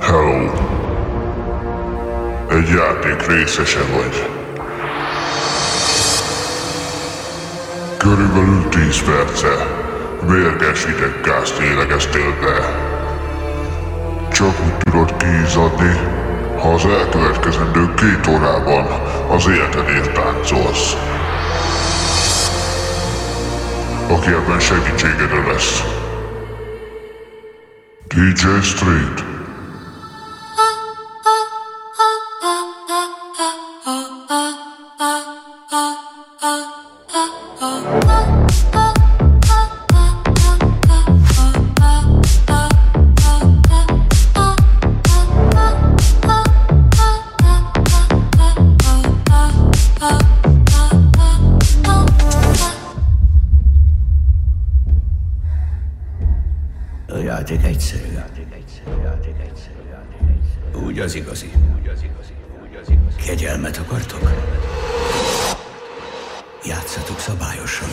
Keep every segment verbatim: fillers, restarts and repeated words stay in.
Hello. Egy játék részese vagy. Körülbelül tíz perce mérges ideggázt lélegeztél be. Csak úgy tudod kiizzadni, ha az elkövetkezendő két órában az életedért táncolsz. Aki ebben segítségedre lesz. dé dzsé Street. Úgy az igazi. Kegyelmet akartok? Játszatok szabályosan.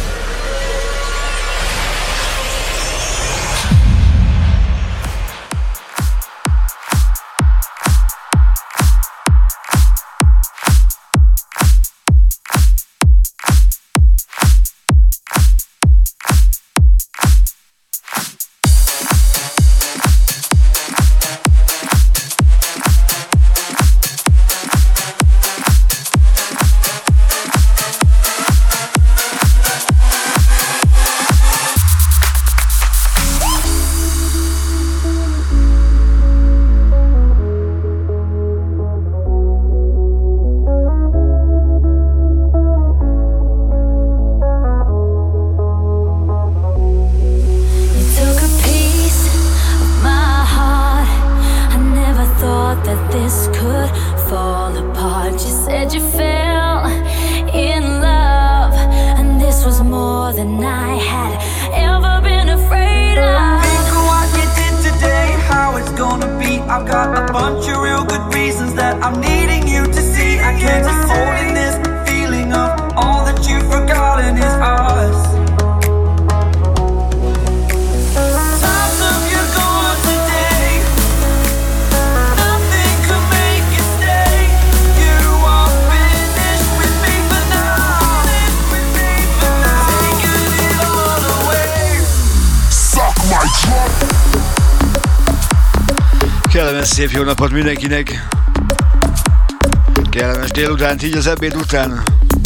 Szép jó napot mindenkinek! Kellemes délutánt, így az ebéd után.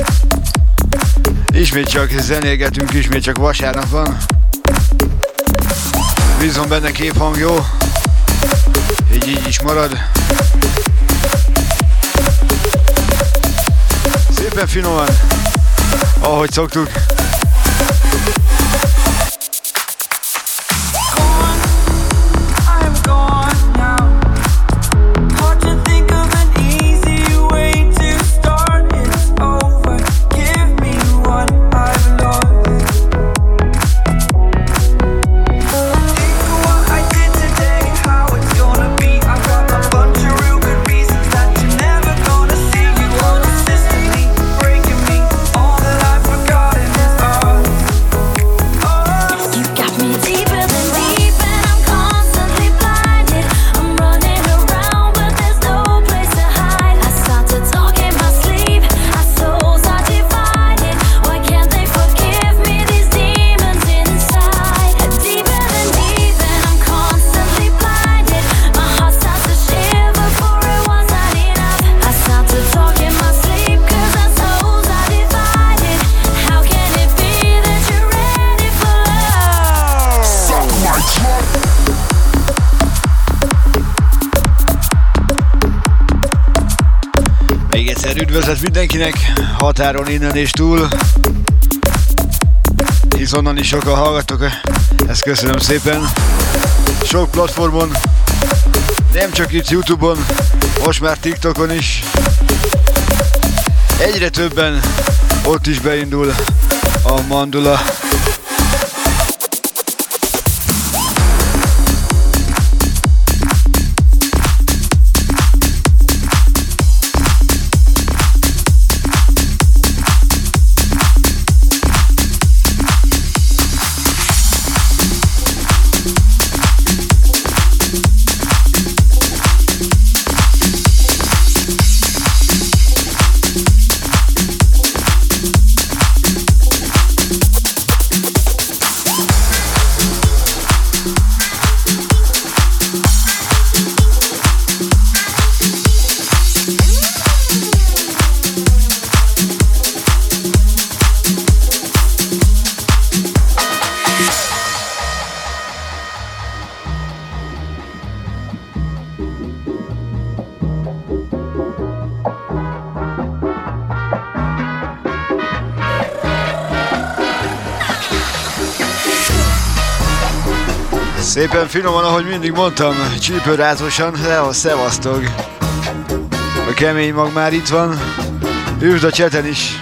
Ismét csak zenélgetünk, ismét csak vasárnap van. Bízom benne, képhang jó. Így így is marad. Szépen finoman, ahogy szoktuk. Üdvözlet mindenkinek, határon innen és túl, hisz onnan is sokan hallgattok, ezt köszönöm szépen. Sok platformon, nem csak itt YouTube-on, most már TikTokon is. Egyre többen, ott is beindul a mandula. Szépen finoman, ahogy mindig mondtam, csípőrátosan, de szevasztok. A kemény mag már itt van, üsd a cseten is.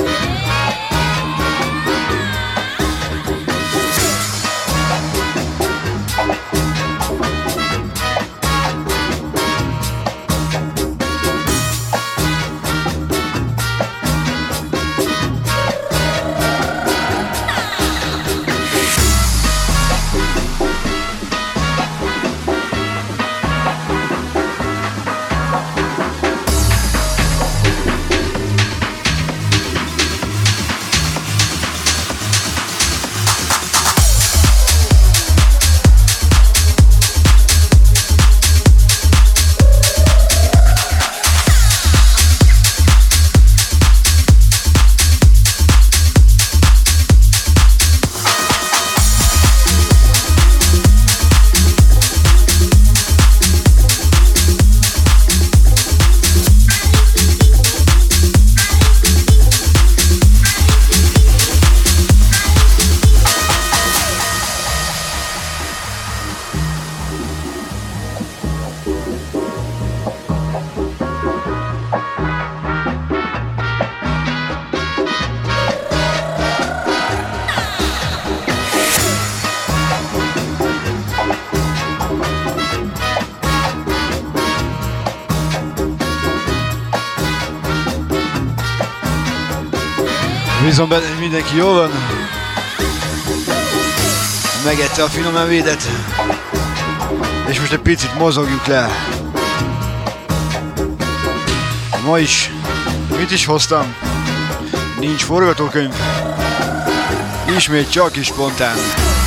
Bízom benne, hogy mindenki jól van. Megette a finom evédet. És most egy picit mozogjuk le. Ma is. Mit is hoztam? Nincs forgatókönyv. Ismét csak is spontán.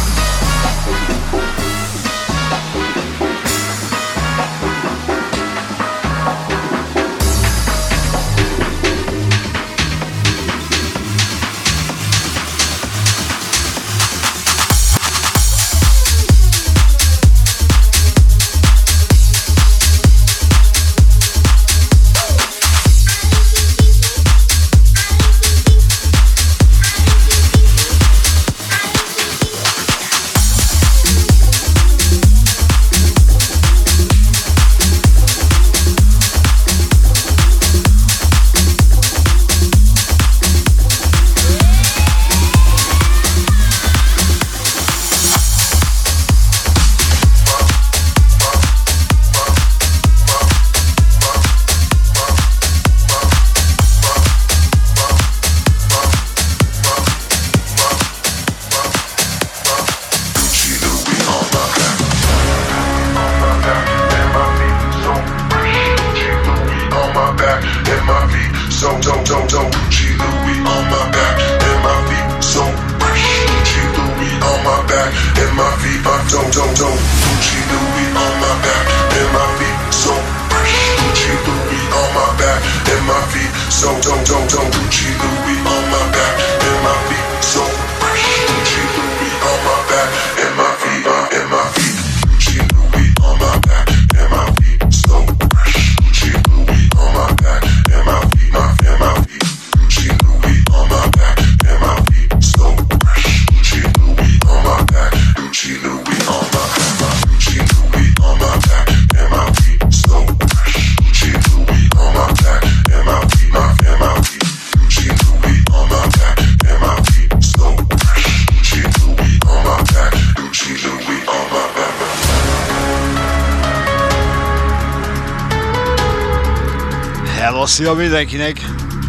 Szia mindenkinek!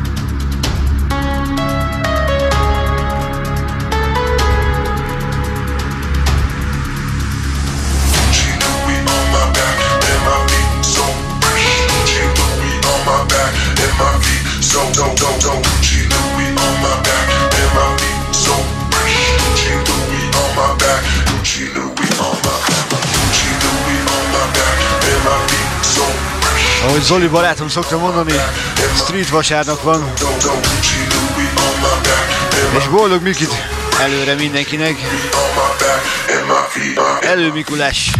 Ahogy Zoli barátom szokta mondani, street vasárnap van. És boldog Mikit előre mindenkinek. Elő Mikulás!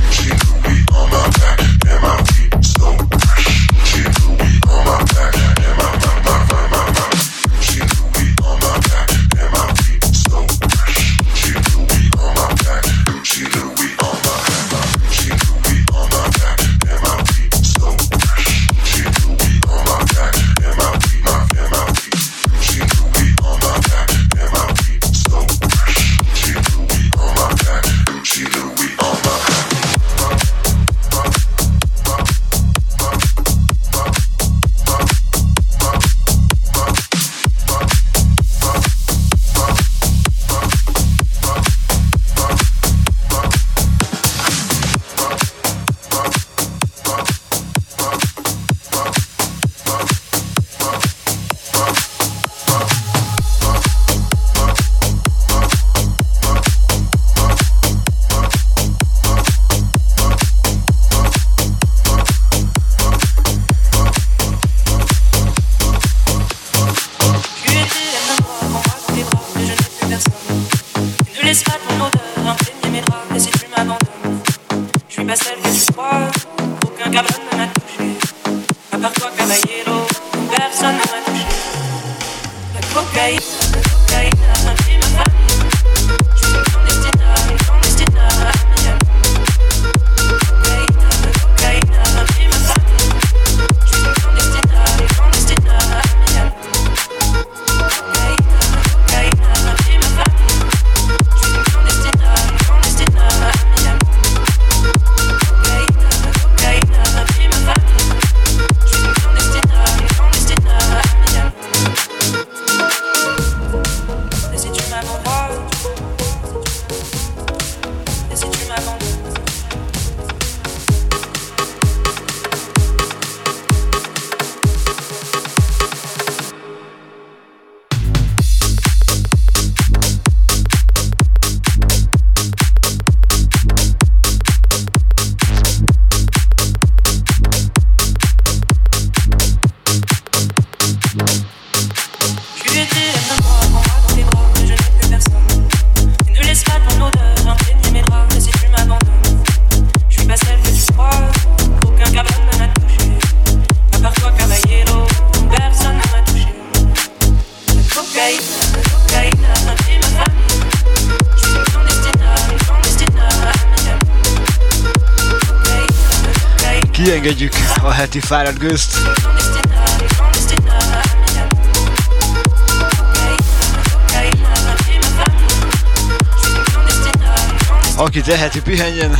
pas celle que tu crois. Aucun cabane ne m'a touché. À part toi, caballero, personne ne m'a touché. La cocaïne, la cocaïne a pris ma famille. Je suis une clandestina, une clandestina à Miami. La cocaïne, la cocaïne a pris ma famille. Je suis une clandestina, une clandestina à Miami. La cocaïne, la cocaïne a pris ma famille. Je suis une clandestina, une clandestina à Miami. Kiengedjük a heti fáradt gőzt. Aki teheti, pihenjen.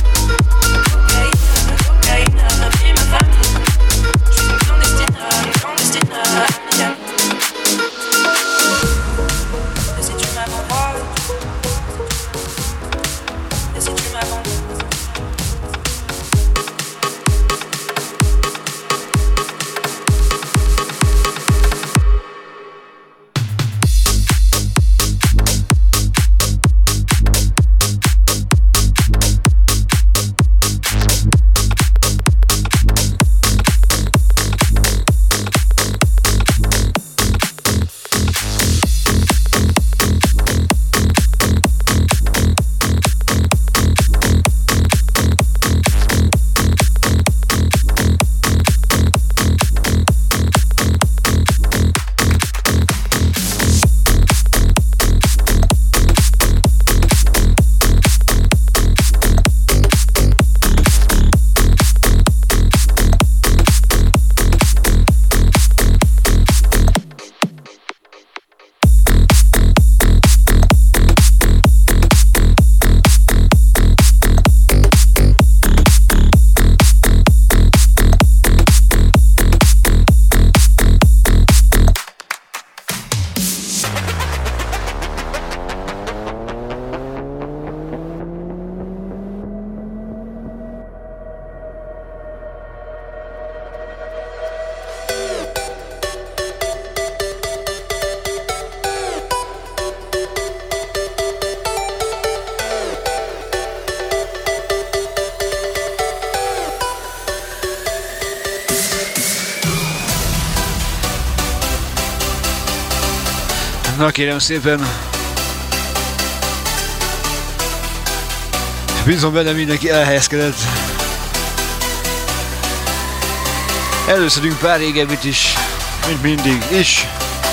Na kérem szépen, bízom benne, mindenki elhelyezkedett. Előszedünk pár régebbit is, mint mindig is.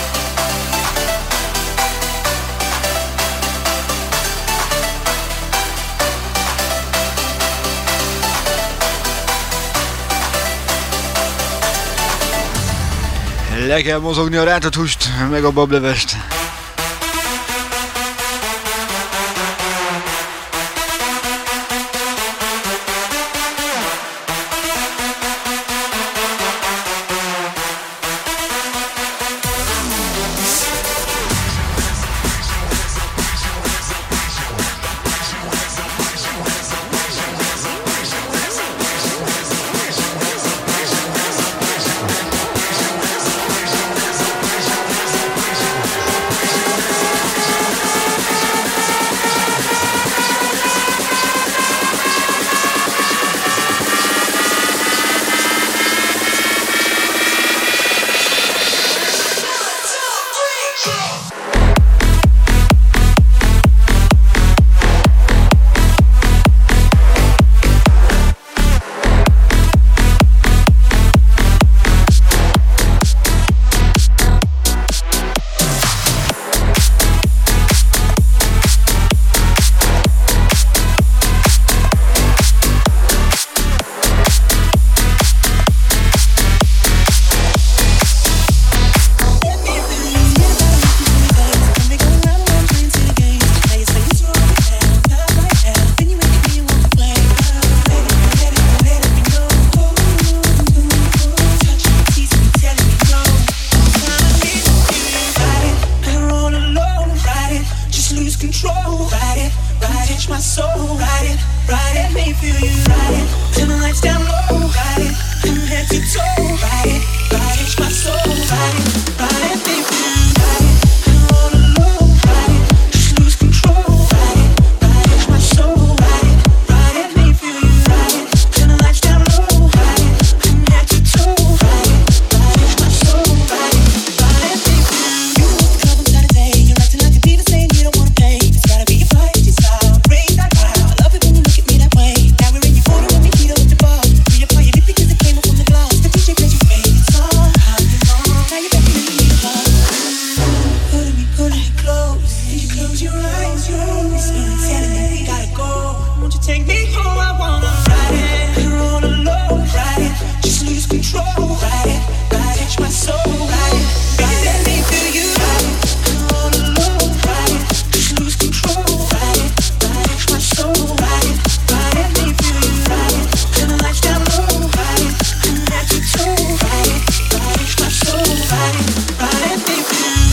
Le kell mozogni a rántott húst, meg a bablevest. ride it, make me feel you ride it. Turn the lights down low, ride it, from head to toe, ride it, ride it, my soul, ride it, ride it, make me feel you ride it. And all alone, ride it, just lose control, ride it, ride it, my soul, ride it, ride it, make me feel you ride it. Turn the lights down low, ride it, from head to toe, ride it, ride it, my soul, ride it, ride it, make me feel you. You know what's the club on Saturday? You're acting like a diva, saying you don't wanna pay. It's gotta be your fight, your style, raise that crowd. I love it when you look at me that way. Now we're in your photo and we heat up the bar. Reapply your lip because it came up from the glass. The D J plays your favorite song. How you know? Now you're back in the club. Pulling me, pulling me close. Did you close your eyes? Your eyes. It's Saturday, we gotta go. Won't you take me home? I wanna ride it, roll alone, ride it, just lose control, ride it, ride it, my soul, ride it, ride it, let me feel you, ride it, roll alone, ride it, just lose control, ride it, ride it, my soul, ride it, ride it, let me feel you, ride it, turn the lights down low, ride it, from head to toe, ride it, ride it, my soul, ride it, ride it, let me feel you.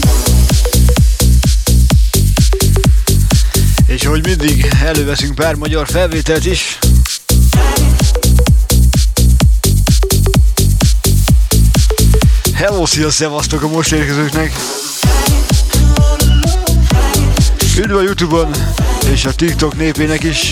És hogy mindig előveszünk pár magyar felvételt is. Hello, szia, szevasztok a most érkezőknek! Üdv a YouTube-on és a TikTok népének is!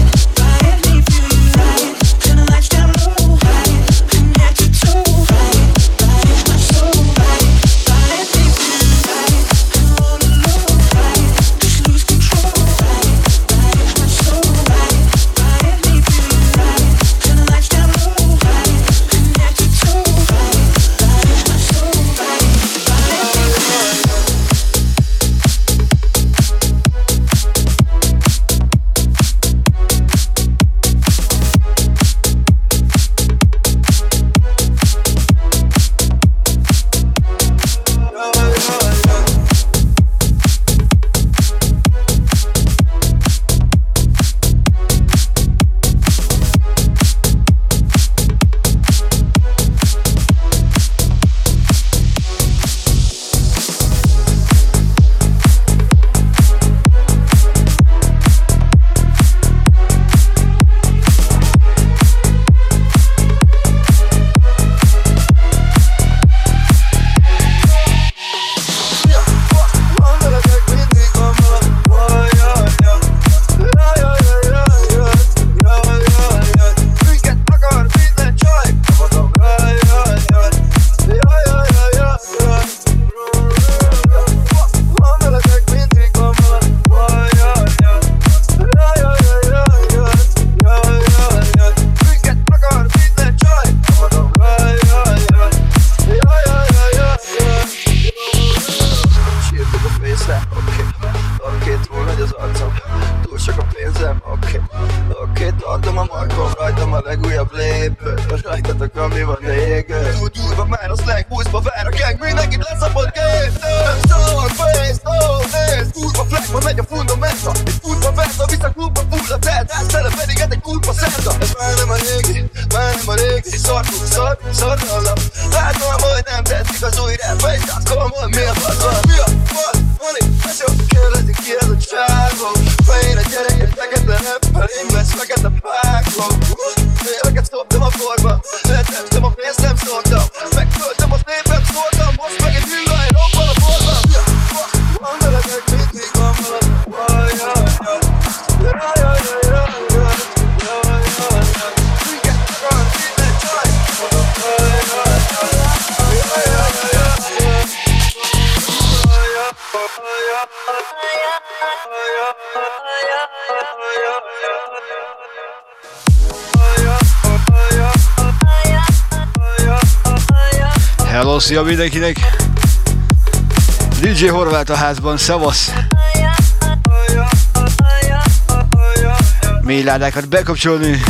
Hello, szia mindenkinek! dé dzsé Horváth a házban, szavasz! Mély ládákat bekapcsolni!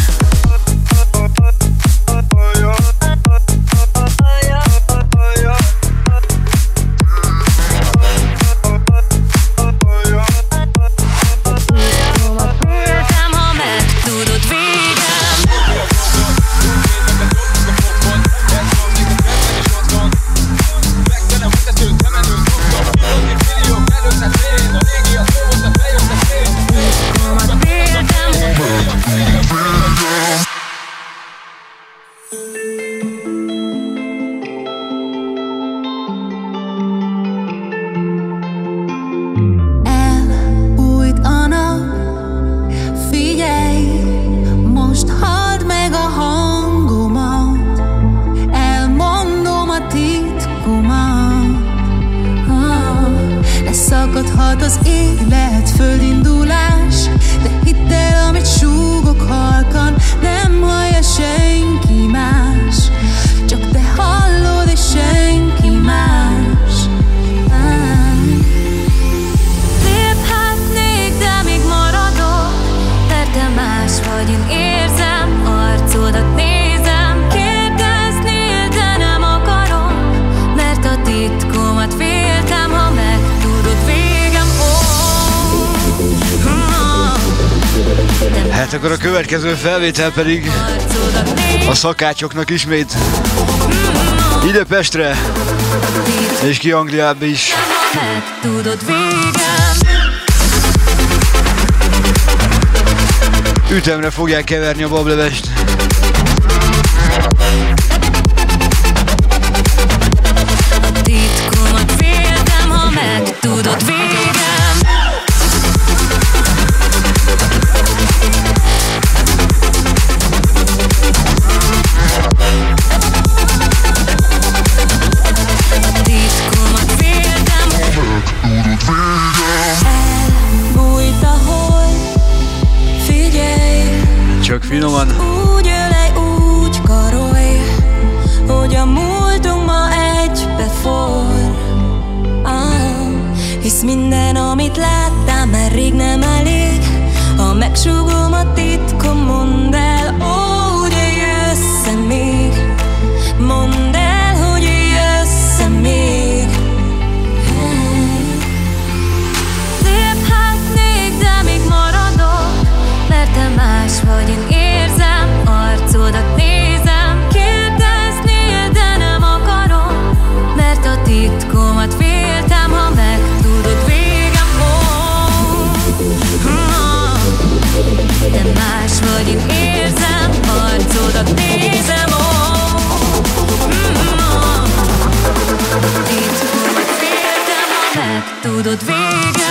volt az élet, földindulás. De hidd el, amit súgok halkan, nem hallja senki más, csak te hallod és senki más. Léphetnék, de még maradok, mert te más vagy, én érzem, arcodat nézem. Kérdeznél, de nem akarom, mert a titkomat féltem, ha megtudod végem. Oh, oh. Hát akkor a következő felvétel pedig a szakácsoknak ismét ide Pestre és ki Angliába is. Megtudod végem. Ütemre fogják keverni a bablevest. Titkomat féltem, ha megtudod végem. Titkomat féltem. Elbújt a hold, figyelj. Csak finoman. Úgy ölej, úgy karolj, hogy a múltunk ma egybeforr. Ah, hisz minden, amit láttál, már rég nem elég. Ha megsúgom a titkom, mondd el, ó, hogy jössz-e még. Mondd el, hogy jössz-e még. Léphetnék, de még maradok, mert te más vagy, én érzem, arcodat nézem. Kérdeznél, de nem akarom, mert a titkomat féltem, ha megtudod végem. Oh, oh. Te más vagy, én érzem, arcodat nézem. Oh, oh. Titkomat féltem, ha megtudod végem.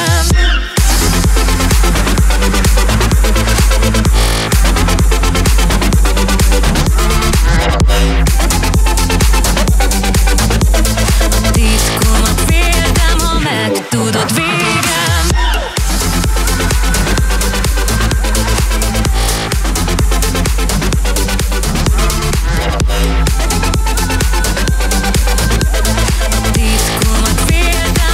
Titkomat féltem, ha megtudod végem. Titkomat féltem.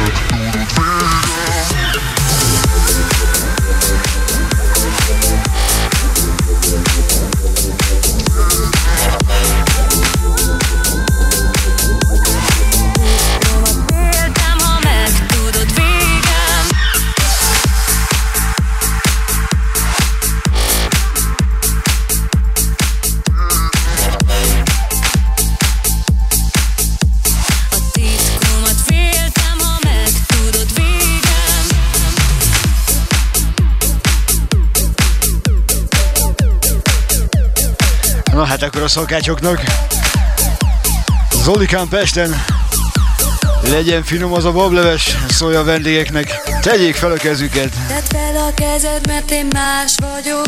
Féltem, ha megtudod végem. A titkomat féltem, ha megtudod végem. Na hát akkor a szakácsoknak. Zolikán Pesten. Legyen finom az a bableves, szólj a vendégeknek. Tegyék fel a kezüket. Tedd fel a kezed, mert én más vagyok.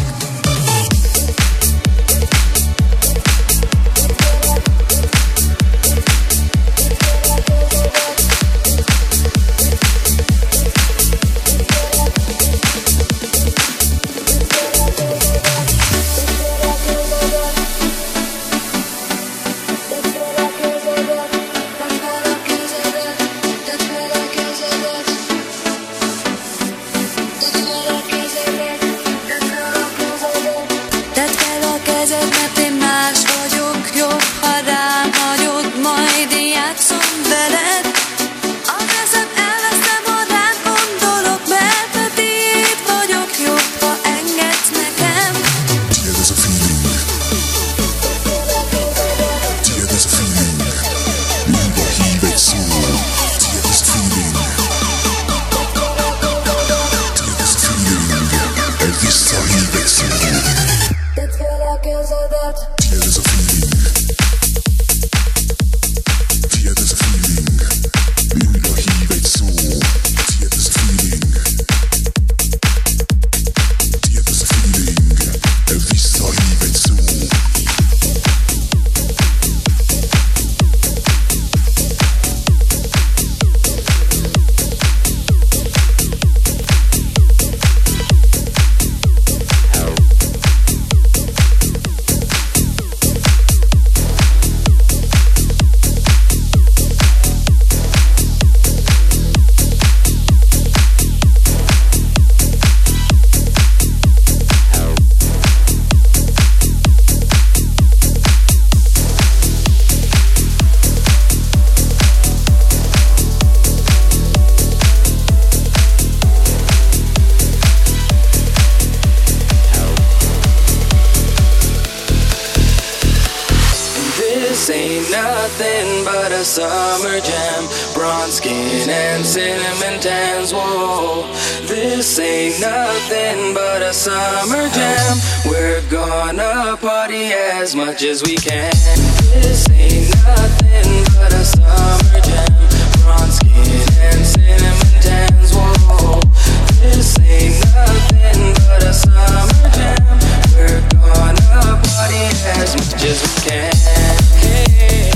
This ain't nothing but a summer jam. Bronze skin and cinnamon tans, whoa. This ain't nothing but a summer jam. We're gonna party as much as we can. This ain't nothing but a summer jam. Bronze skin and cinnamon tans, whoa. This ain't nothing but a summer jam. We're gonna party as much as we can. Hey,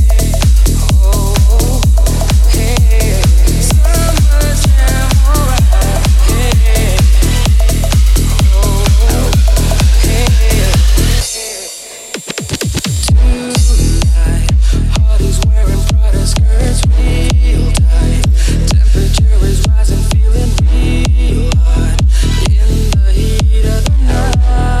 oh, hey, summer jam, alright. Hey, oh, hey, tonight, Hardy's wearing Prada skirts real tight. Temperature is rising, feeling real hot in the heat of the night.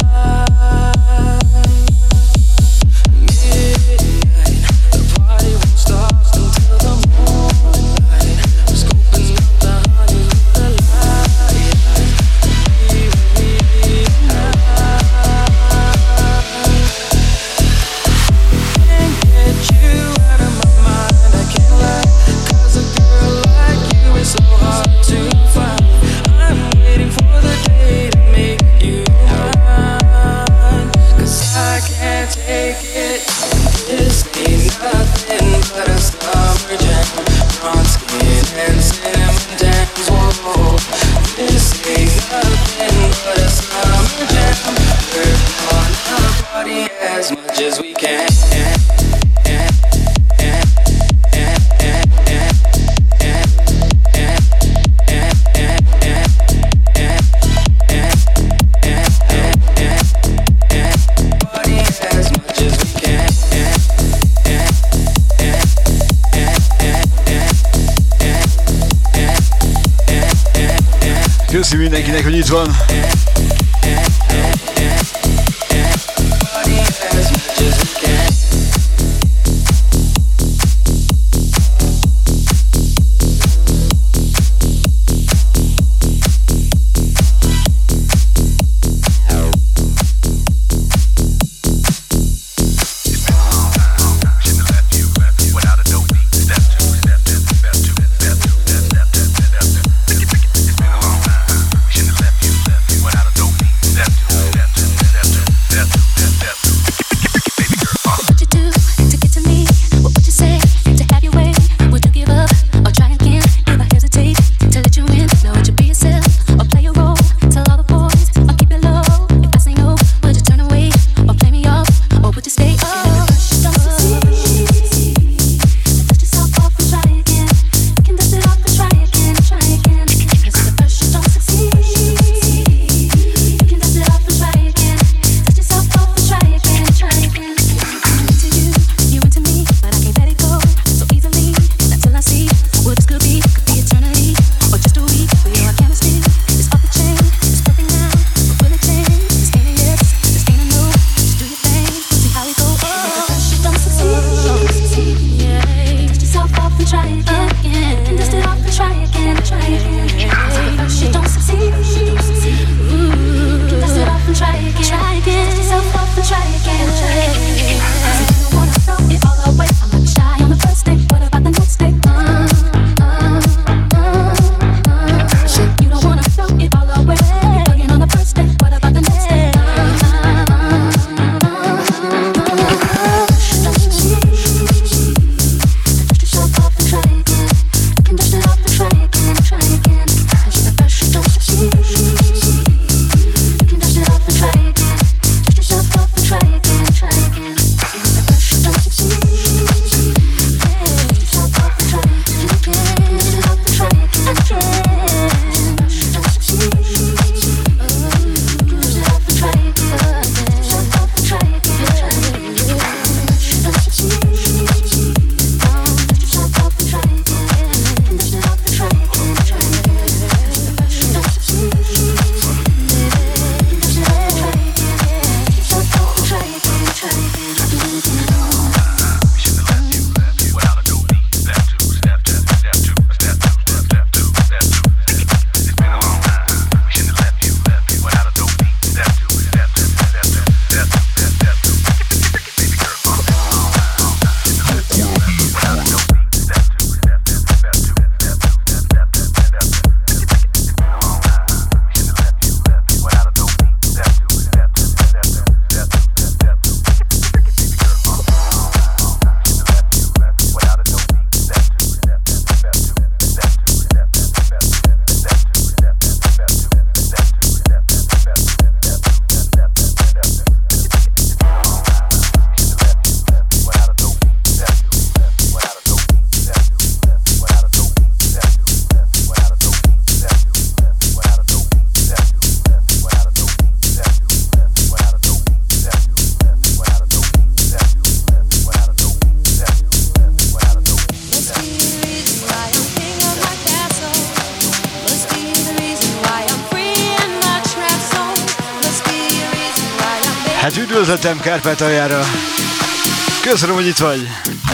Midnight, the party won't stop until the morning light. We're scoping out the honey with the light. Be with me tonight. Can't get you out of my mind, I can't lie. 'Cause a girl like you is so hard to find. I'm waiting for the day to make you mine. 'Cause I can't take it. This ain't nothing but a summer jam. Bronze skin and cinnamon tans, whoa. This ain't nothing but a summer jam. We're gonna party as much as we can. Party as much as we can. Köszi mindenkinek, hogy itt van. Party as much as we can. Without a Hát üdvözletem Kárpátaljára. Köszönöm, hogy itt vagy.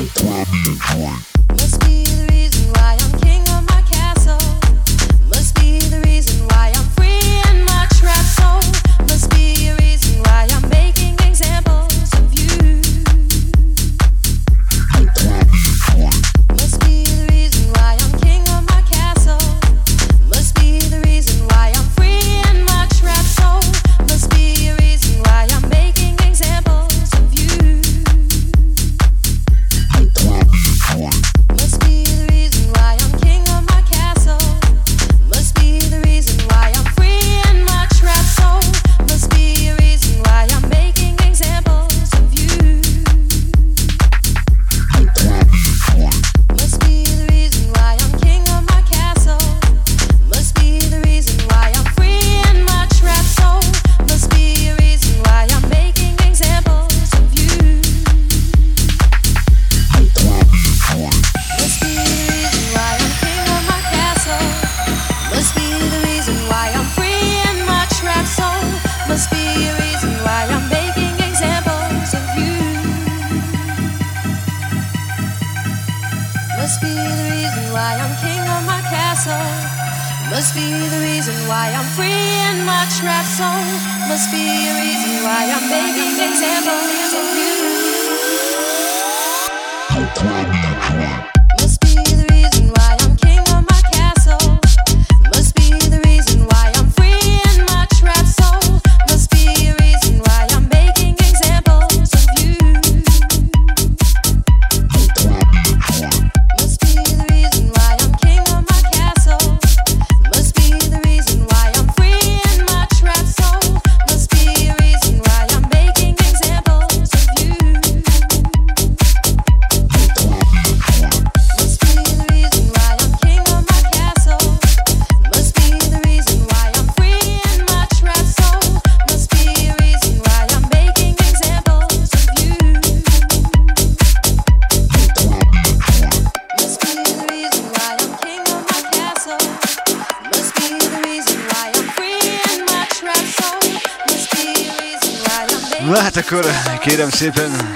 Na hát akkor kérem szépen.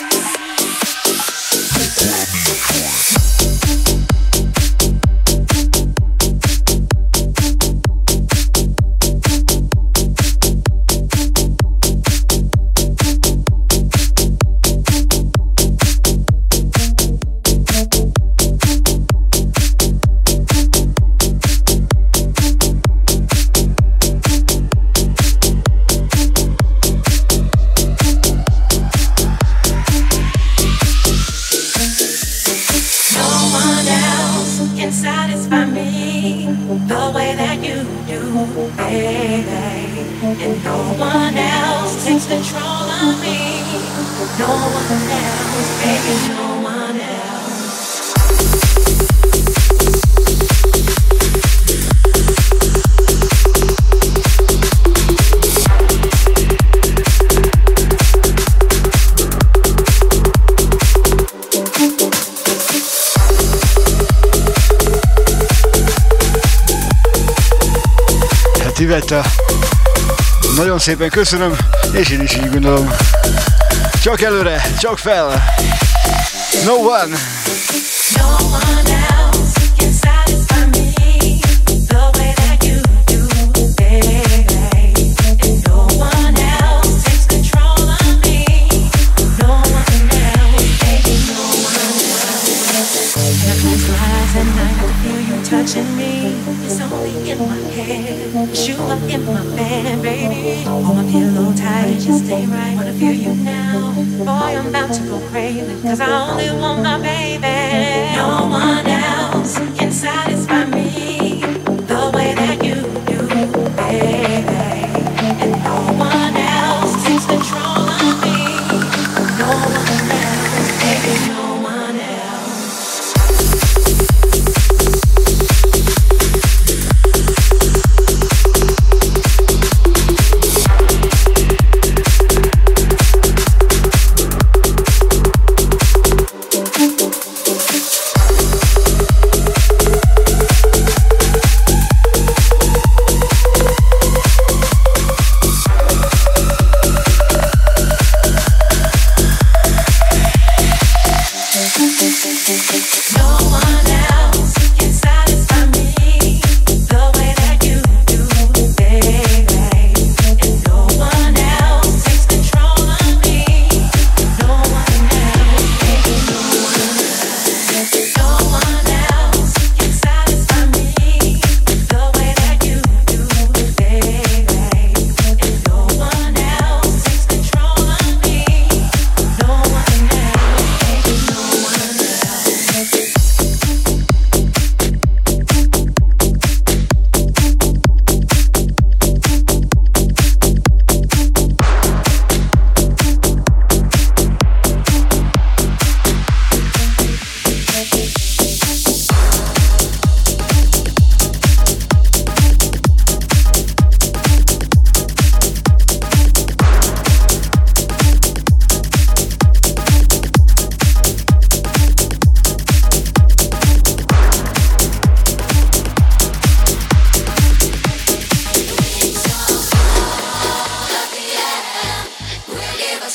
Ivetta, nagyon szépen köszönöm, és én is így gondolom. Csak előre, csak fel! No one! No one else can satisfy me the way that you do, baby. And no one else takes control of me. No one else, baby, no one else. And I close my eyes at night, I feel you touching me. It's only in my head. You are in my bed, baby. Hold my pillow tight, just stay right. Wanna feel you now. Boy, I'm about to go crazy, cause I only want my baby. No one else can satisfy me the way that you do, baby. And no one else takes control of me. No one else, baby, no one else.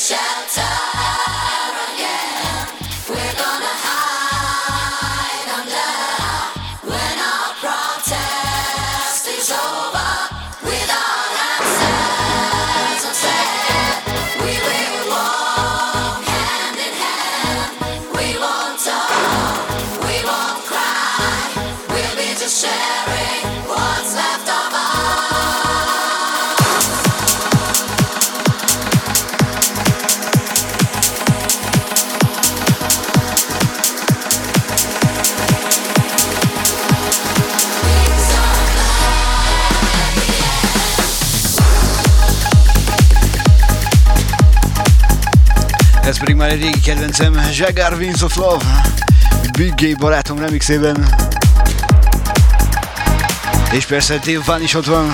Ez pedig már egy régi kedvencem, Jagar Winds of Love, Big Gay barátom remixében. És persze Dave Van is ott van.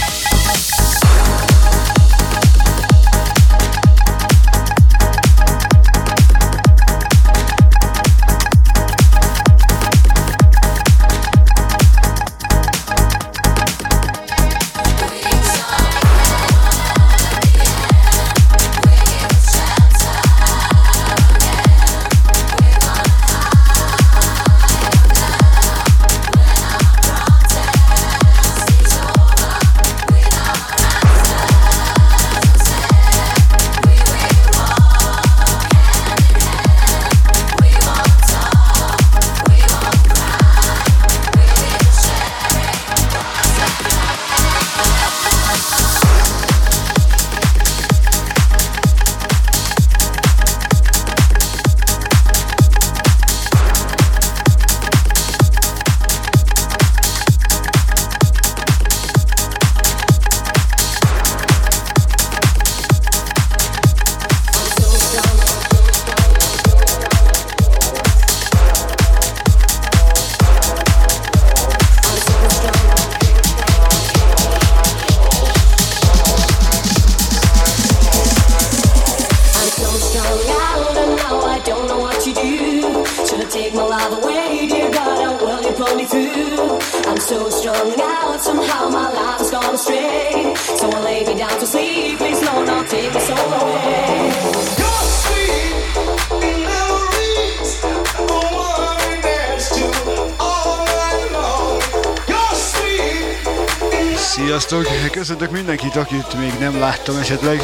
Sziasztok! Köszöntök mindenkit, akit még nem láttam esetleg.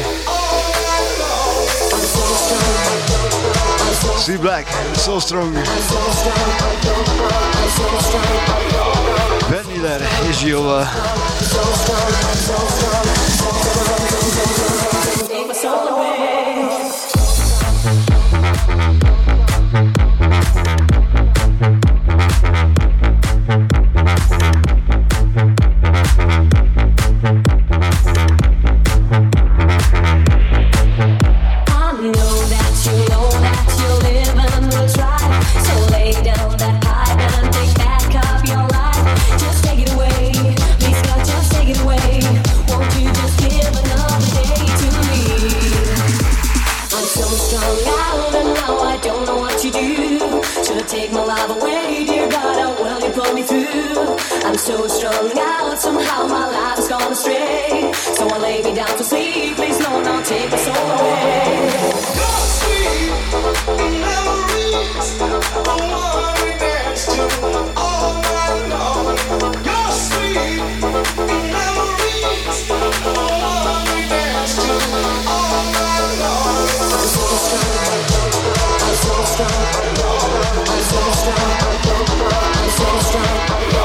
See Black, So Strong, Ben Miller és Giova.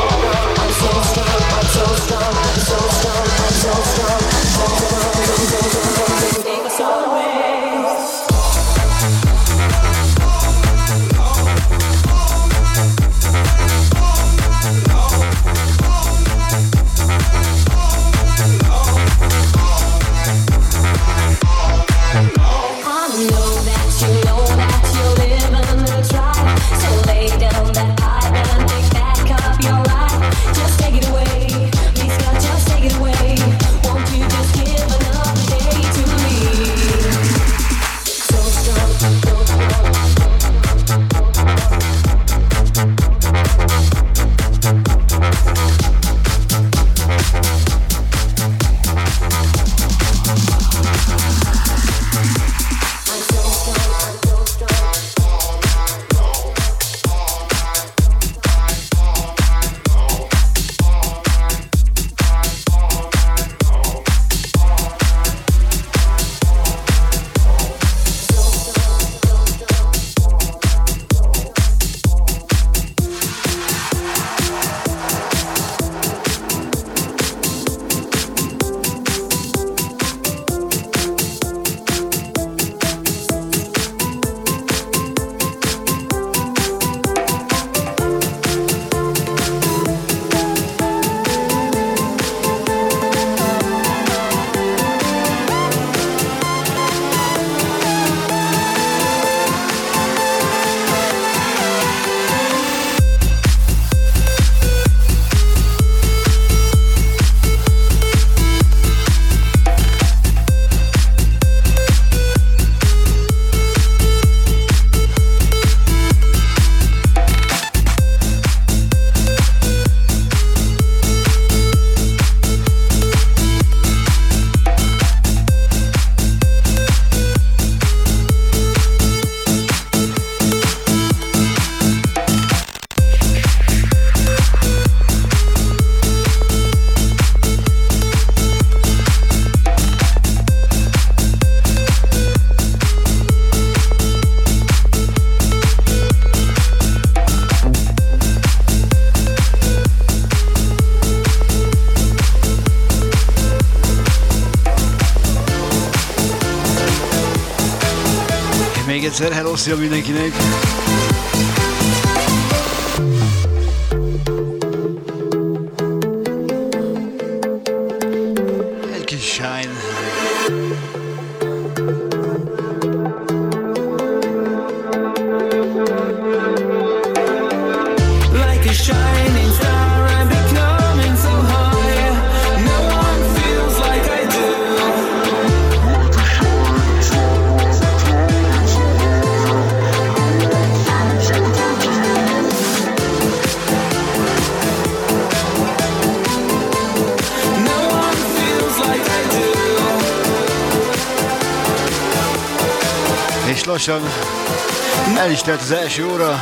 So strong, so strong, so strong. egyszer, hello, szia mindenkinek! Egy kis Shine. Like a shining star, I'm becoming so high. No one feels like I do. No one feels like I do. És lassan el is telt az első óra.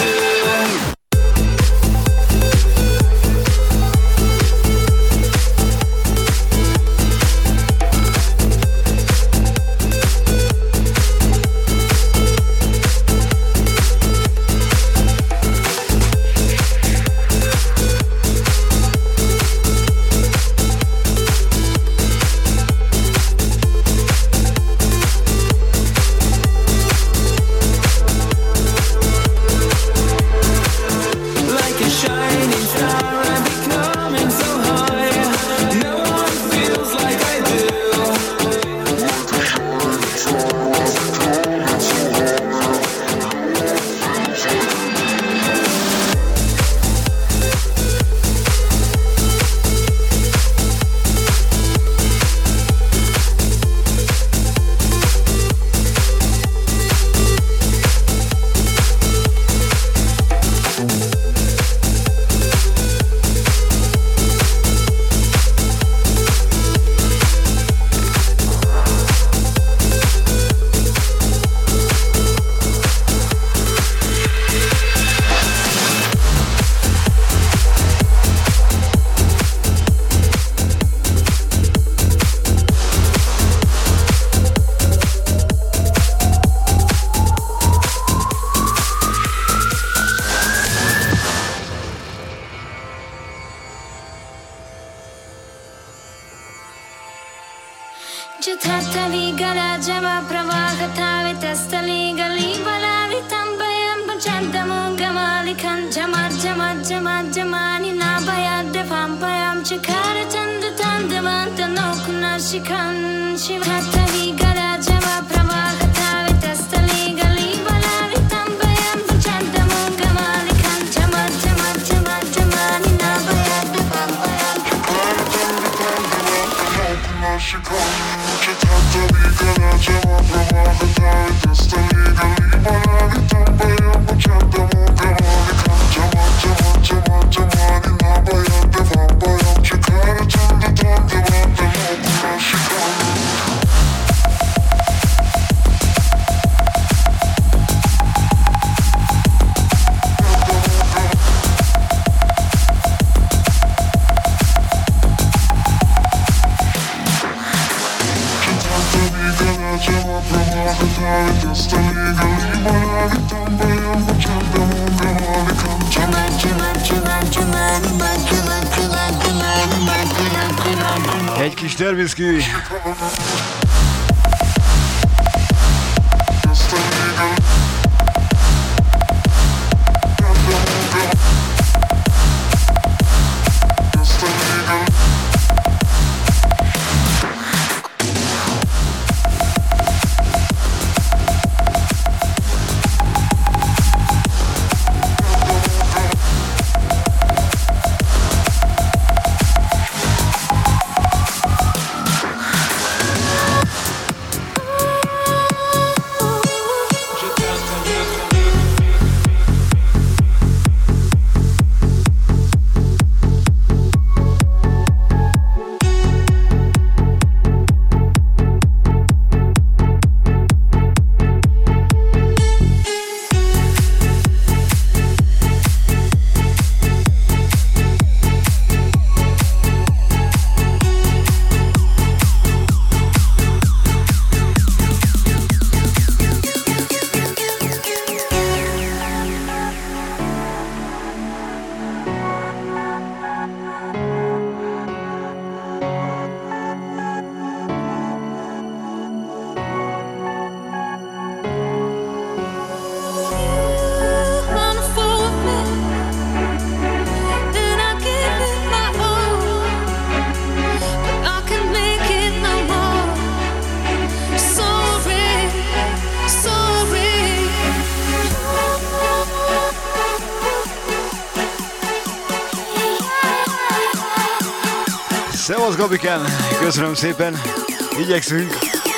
Egy kis Derviszki. Szevasz Gabiken, köszönöm szépen, igyekszünk.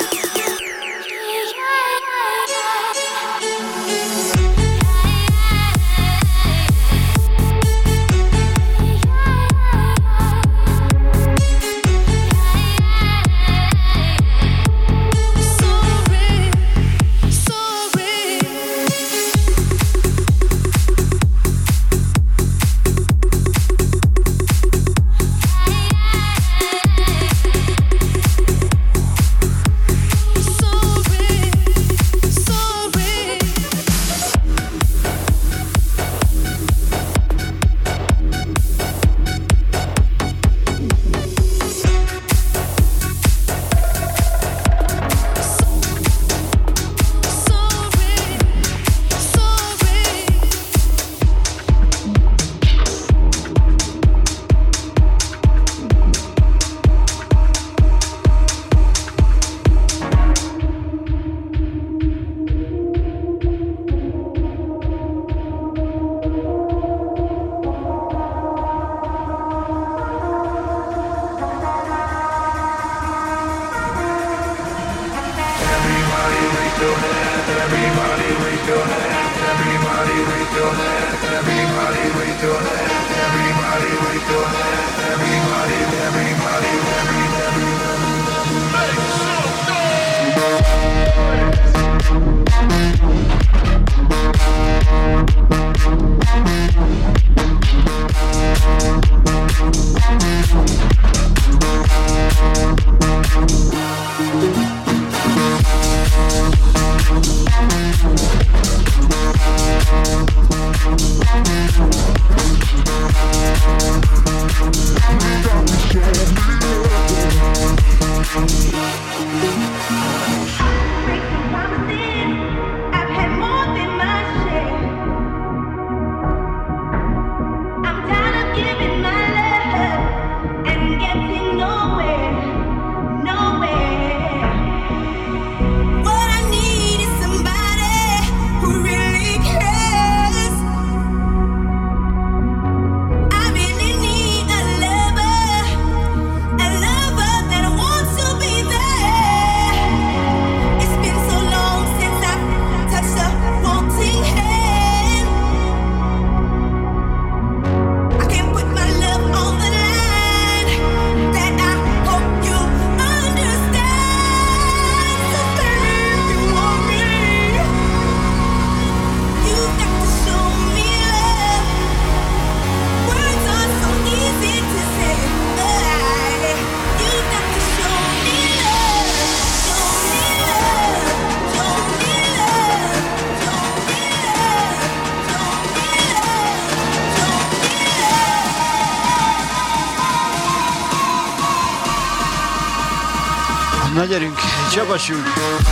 Na gyerünk, csapassunk!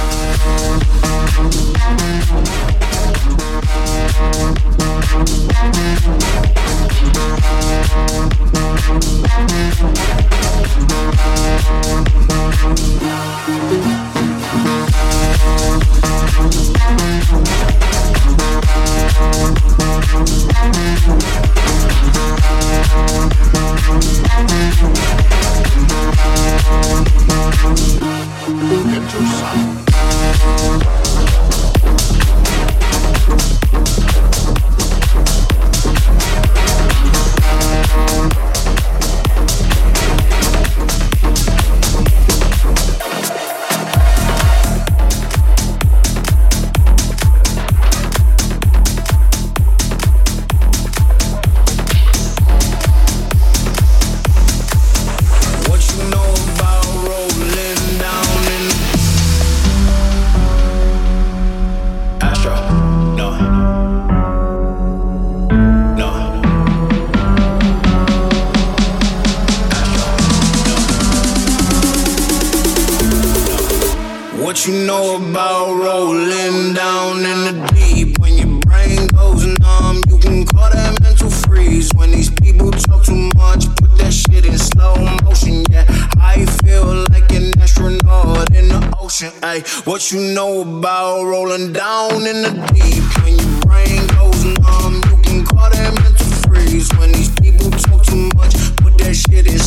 What you know about rolling down in the deep? When your brain goes numb, you can call that mental freeze. When these people talk too much, put that shit in slow motion. Yeah, I feel like an astronaut in the ocean. Ay, what you know about rolling down in the deep? When your brain goes numb, you can call that mental freeze. When these people talk too much, put that shit in slow motion.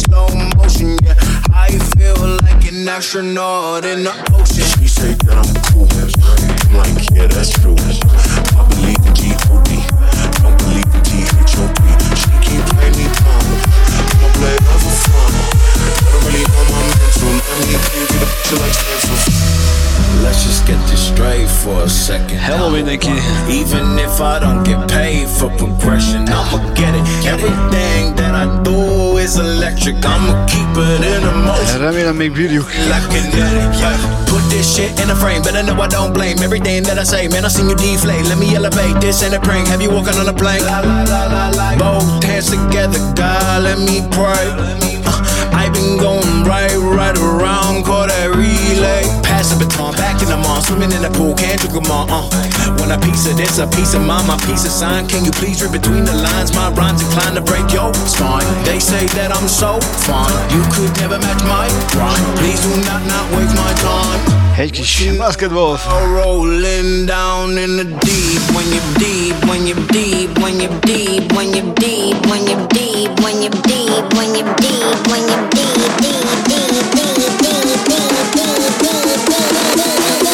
slow motion, yeah. I feel like an astronaut in the ocean. She say that I'm cool, I'm like, yeah, that's true. I believe in G O D, don't believe in T H O P. She keep playing me dumb, I'ma play her for fun. I don't really know my mental, let me give you the picture like stencils. Let's just get this straight for a second. Hello mindenki. Even if I don't get paid for progression, I'ma get it. Everything that I do is electric. I'ma keep it in a motion. Remélem még bírjuk. Like kinetic, yeah. Put this shit in a frame, better know I don't blame everything that I say. Man, I seen you deflate. Let me elevate this in a prank. Have you walking on a plane? La, la, la, la, la. Both hands together, God, let me pray. Uh, I've been going right, right around, call that relay. Pass the baton, back in the mall, swimming in the pool, can't drink them all. Uh. When a piece of this, a piece of mine, my piece of sign. Can you please read between the lines? My rhymes inclined to break your spine. They say that I'm so fine, you could never match my rhyme. Please do not not waste my time. Egy kis basketball. Rolling down in the deep, when you're deep, when you're deep, when you're deep, when you're deep, when you're deep, when you're deep, when you're deep, when you're deep, deep, deep, deep, deep, deep, deep.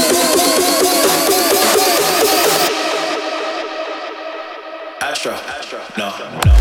Astro, Astro, no, no.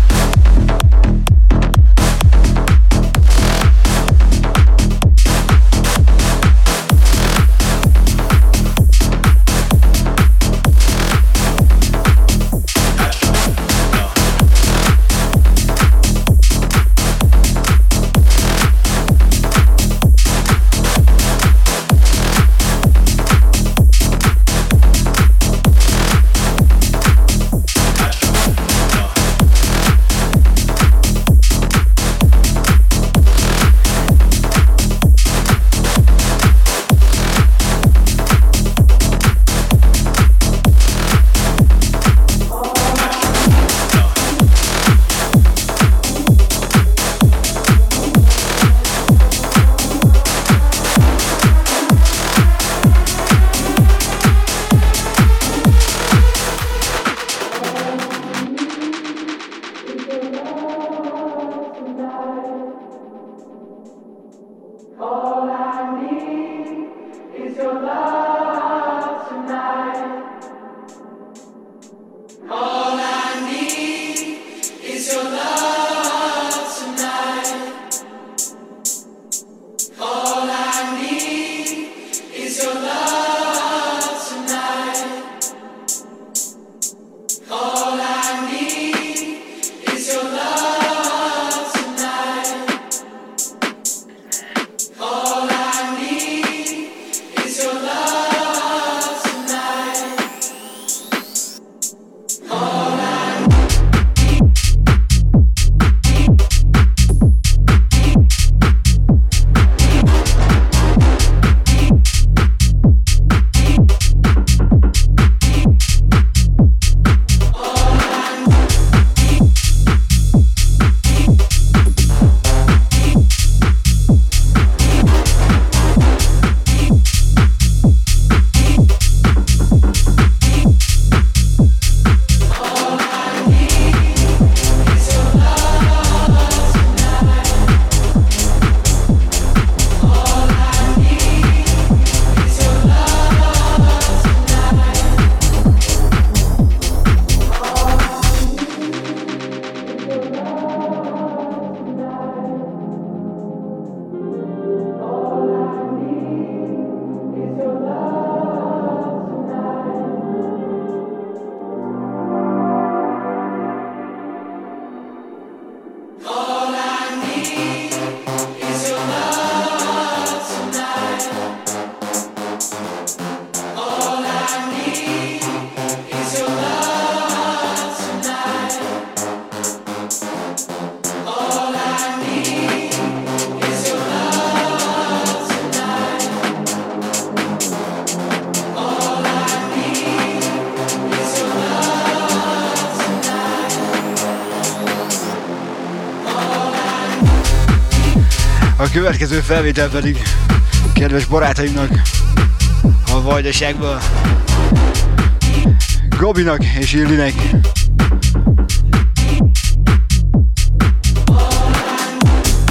A következő felvétel pedig kedves barátaimnak a Vajdaságból, Gabinak és Illinek.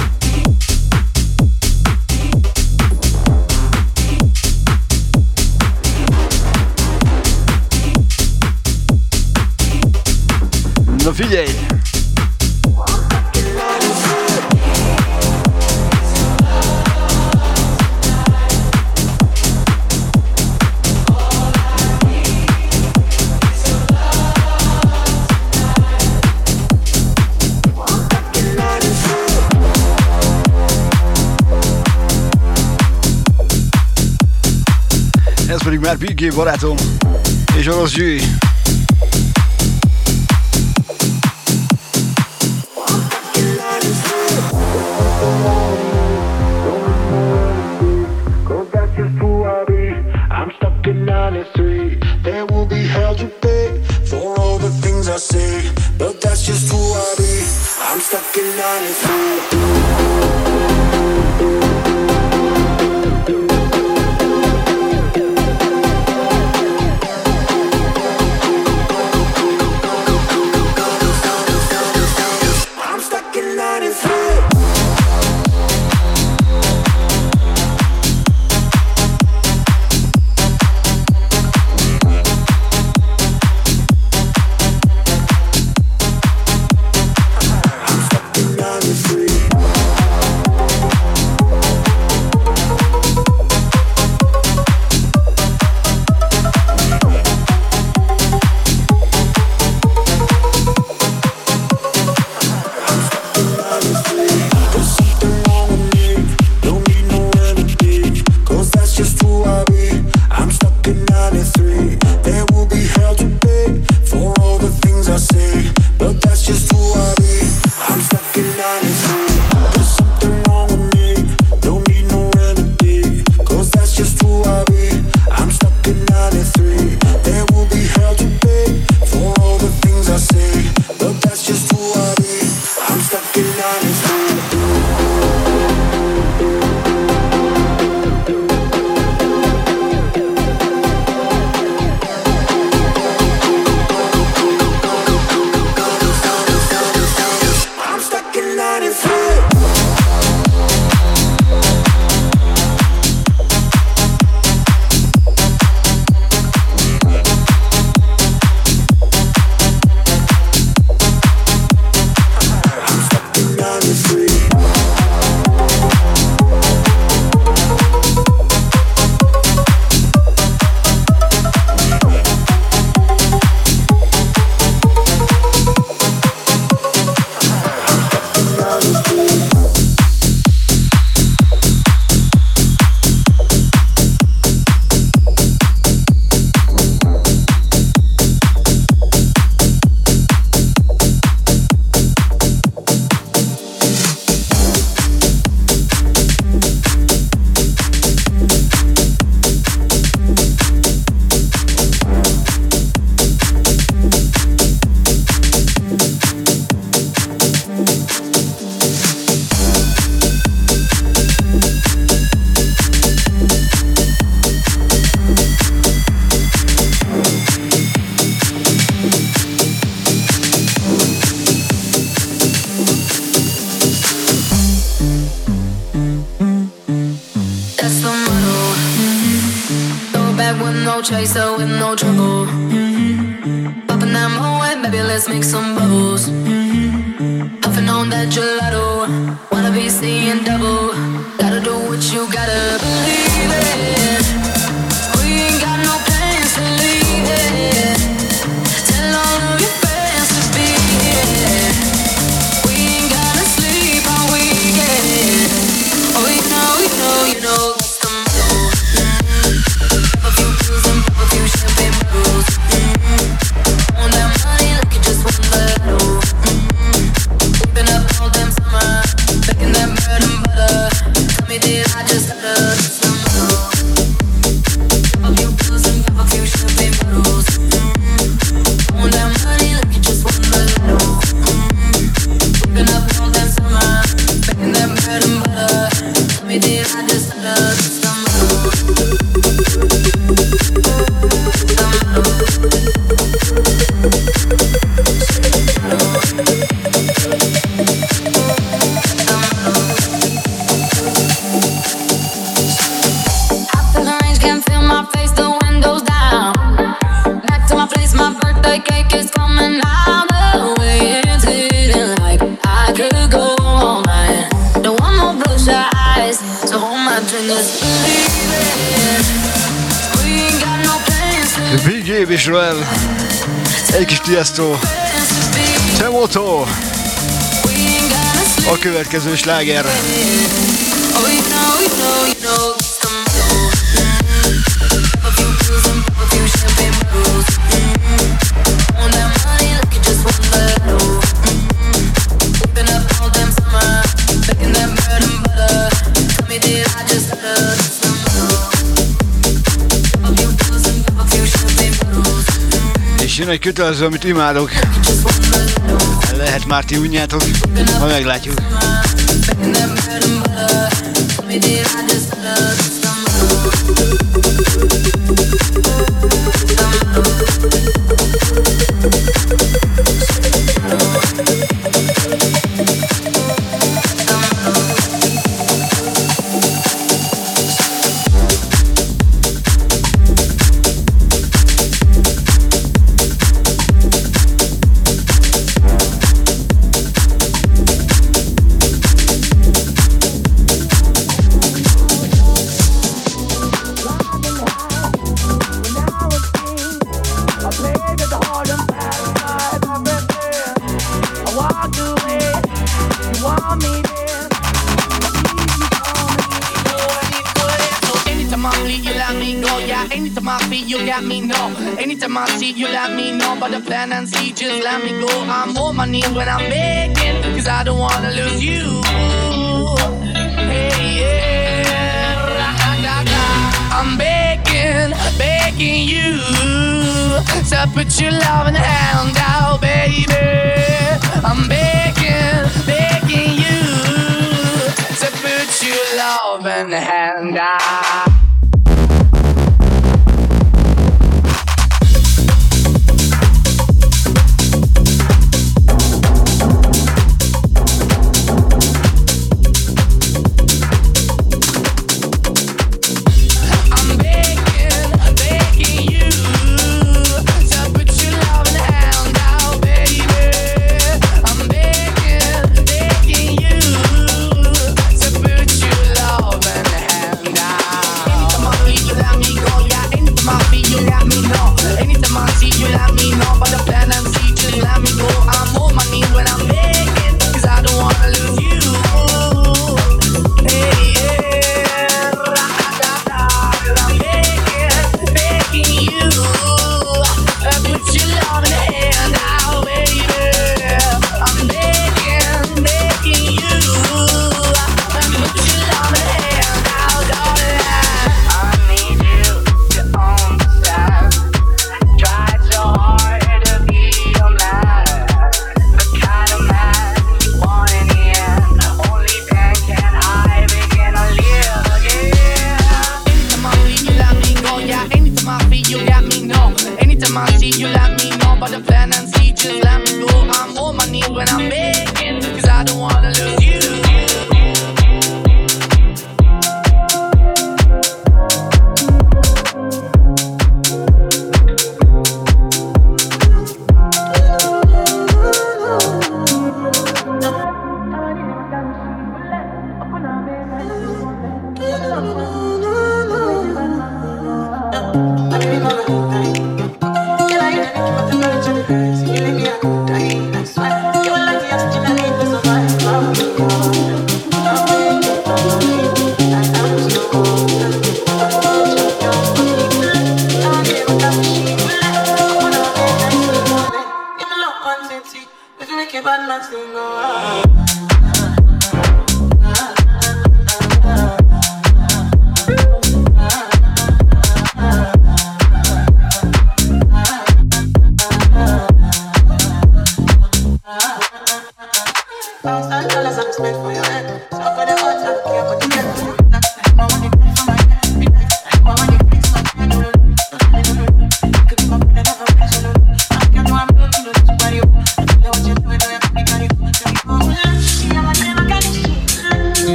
Figyelj! Ez pedig már Big Game barátom és orosz Gyűj. chaser with no trouble. Mm-hmm. Popping that moe, baby, let's make some bubbles. Mm-hmm. Puffing on that gelato, wanna be seeing double. Gotta do what you gotta believe it. We ain't got no plans to leave it. Tell all of your friends to be here. We ain't gotta sleep all weekend. Oh, you know, you know, you know. Champagne bottles, mm-hmm. On that money like you just won the lotto, mm-hmm. We've been up all damn summer, making that bread and butter. Tell me did I just utter some more? Gabe és Roel. Egy kis Tiesto. Temoto. A következő sláger. És jön egy kötelező, amit imádok. Lehet már ti unjátok, ha meglátjuk. When I'm begging, cause I don't wanna lose you. Hey, yeah. I'm begging, begging you to put your love in the hand out, baby. I'm begging, begging you to put your love in the hand out.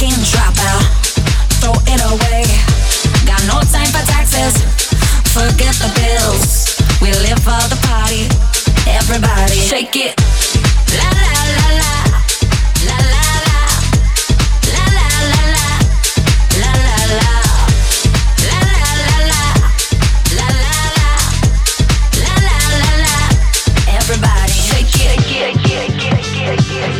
fucking dropout. Throw it away. Got no time for taxes. Forget the bills. We live for the party. Everybody shake it. La la la la. La la la. La la la la. La la la. La la la la. La la la. La la la la. Everybody shake it. Shake it. Shake it. Shake it.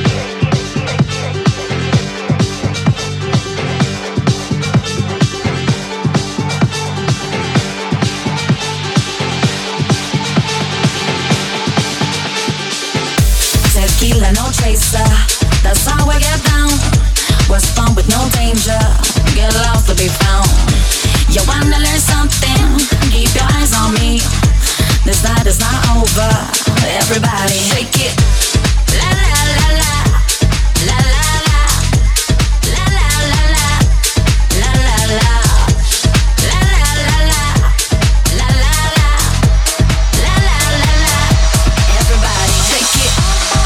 Tequila, no chaser. That's how we get down. Was fun with no danger. Get lost to be found. You wanna learn something? Keep your eyes on me. This night is not over. Everybody shake it. La la la la. La la la. La la la la. La la la. La la la la. La la la. La la la la. Everybody shake it.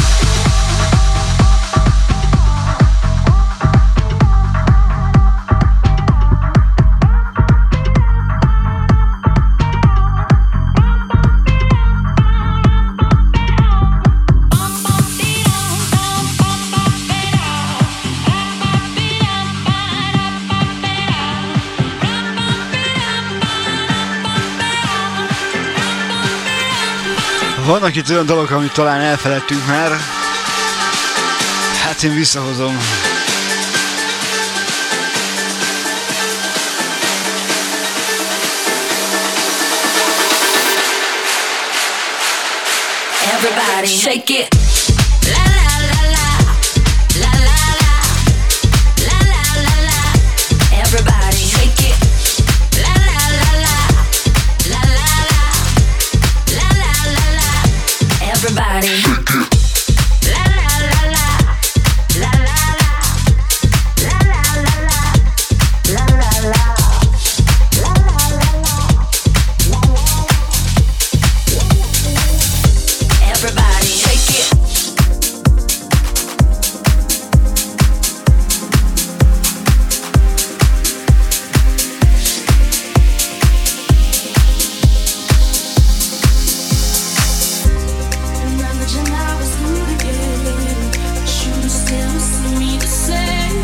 Vannak itt olyan dolgok, amit talán elfeledtünk már. Hát én visszahozom. Everybody shake it. La la la la. La la la. La la la la. Everybody shake it. La la la la. La la la. La la la la. Everybody shake it. La la la la. La la la. La la la la. La la la. La la la la. Everybody shake it. Remember when I was good again, but you still see me the same.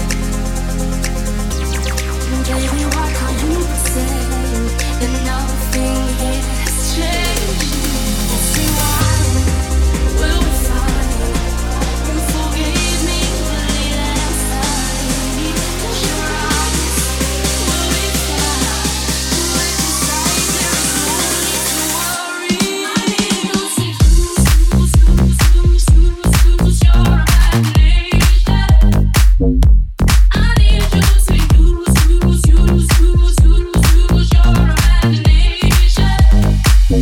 Baby, why can't you pretend that nothing here has changed? Say why we'll be fine. You forgave me, believe that I'm sorry. Close your eyes, we'll be fine. When inside there is no need to worry. I need you to use, use, use, use, use your imagination. I need you to use, use, use, use, use, use your imagination. No,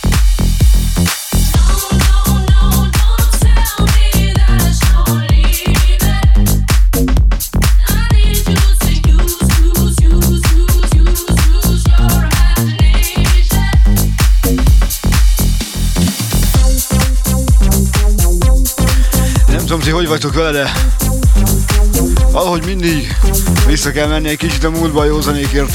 no, no, don't tell me that it's not leaving. I need you to use, use, use, use, use, use your imagination. Nem tudom, ti hogy vagytok vele, de valahogy mindig vissza kell menni egy kicsit a múltba a józanékért.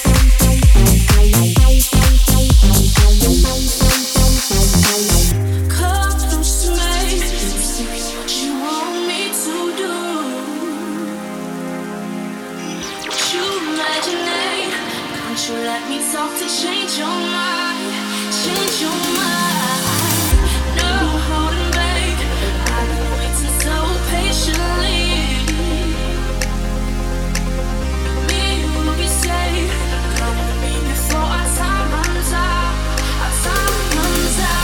Come close to me, what you want me to do. What you imaginate, can't you let me talk to change your mind, change your mind. No holding back, I've been waiting so patiently. Me will be safe, come with me before our time runs out, our time runs out.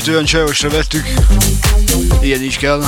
Picit olyan csajosra vettük. Ilyen is kell.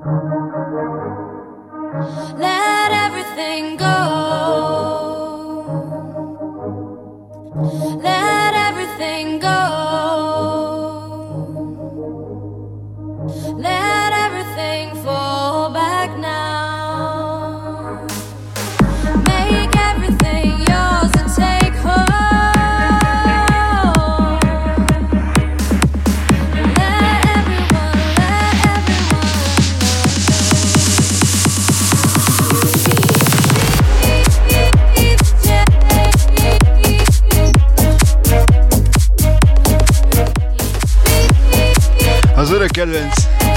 Let everything go. Let everything go. Let everything fall back now. Make everything yours and take home. Let everyone, let everyone Az örök kedvenc.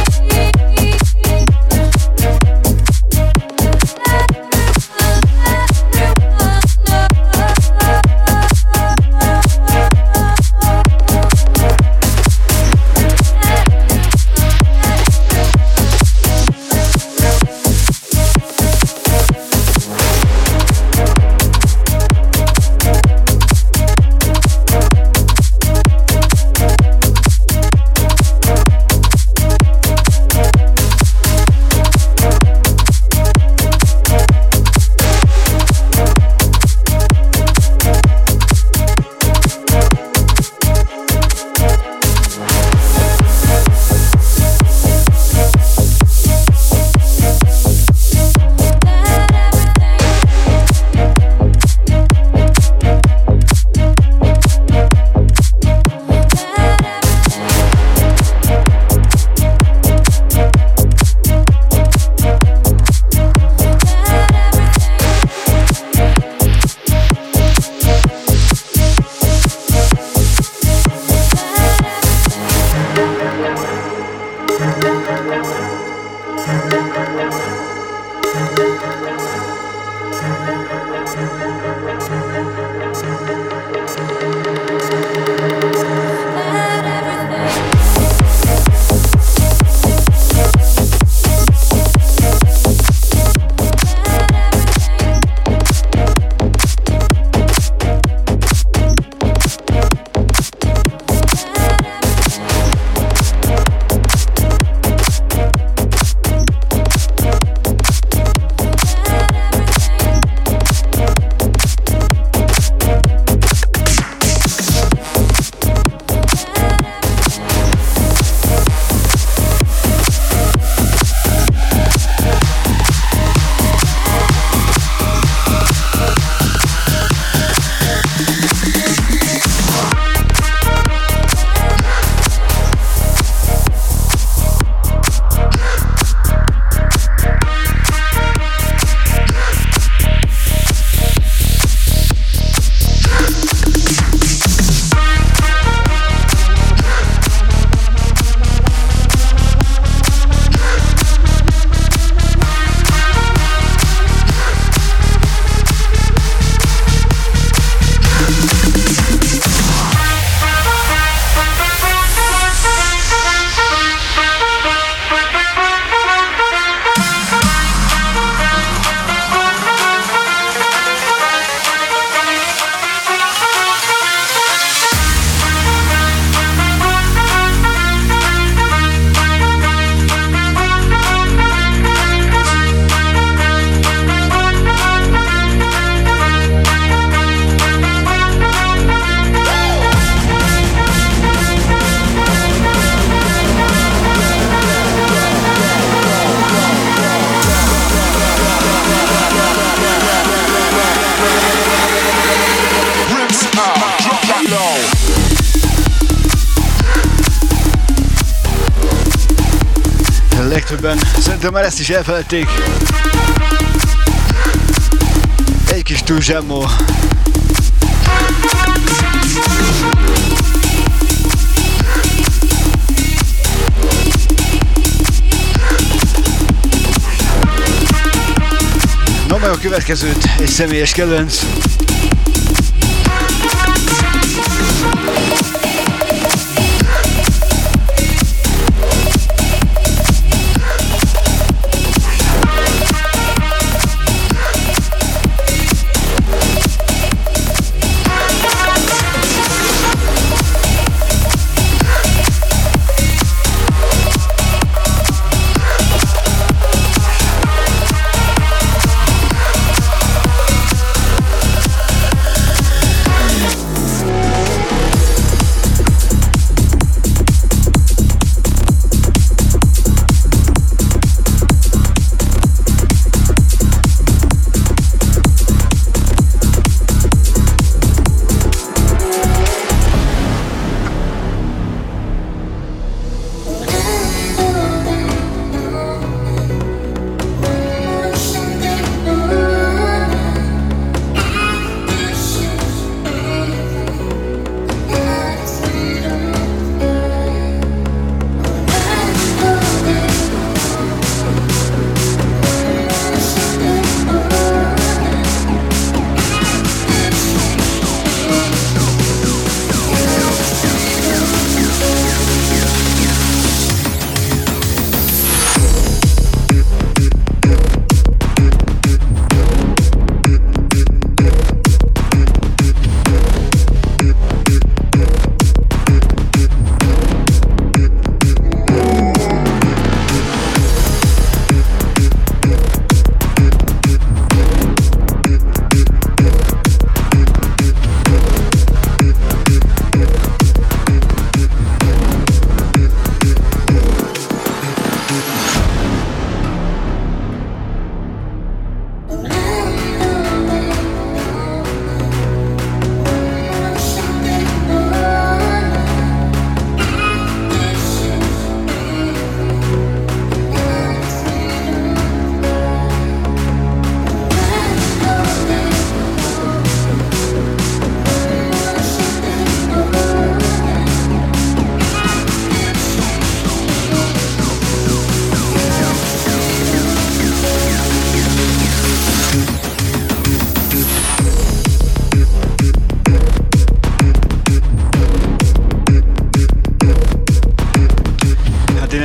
Legtöbben szerintem már ezt is elfelejték. Egy kis túl zsemmó. No, meg a következőt, egy személyes kedvenc.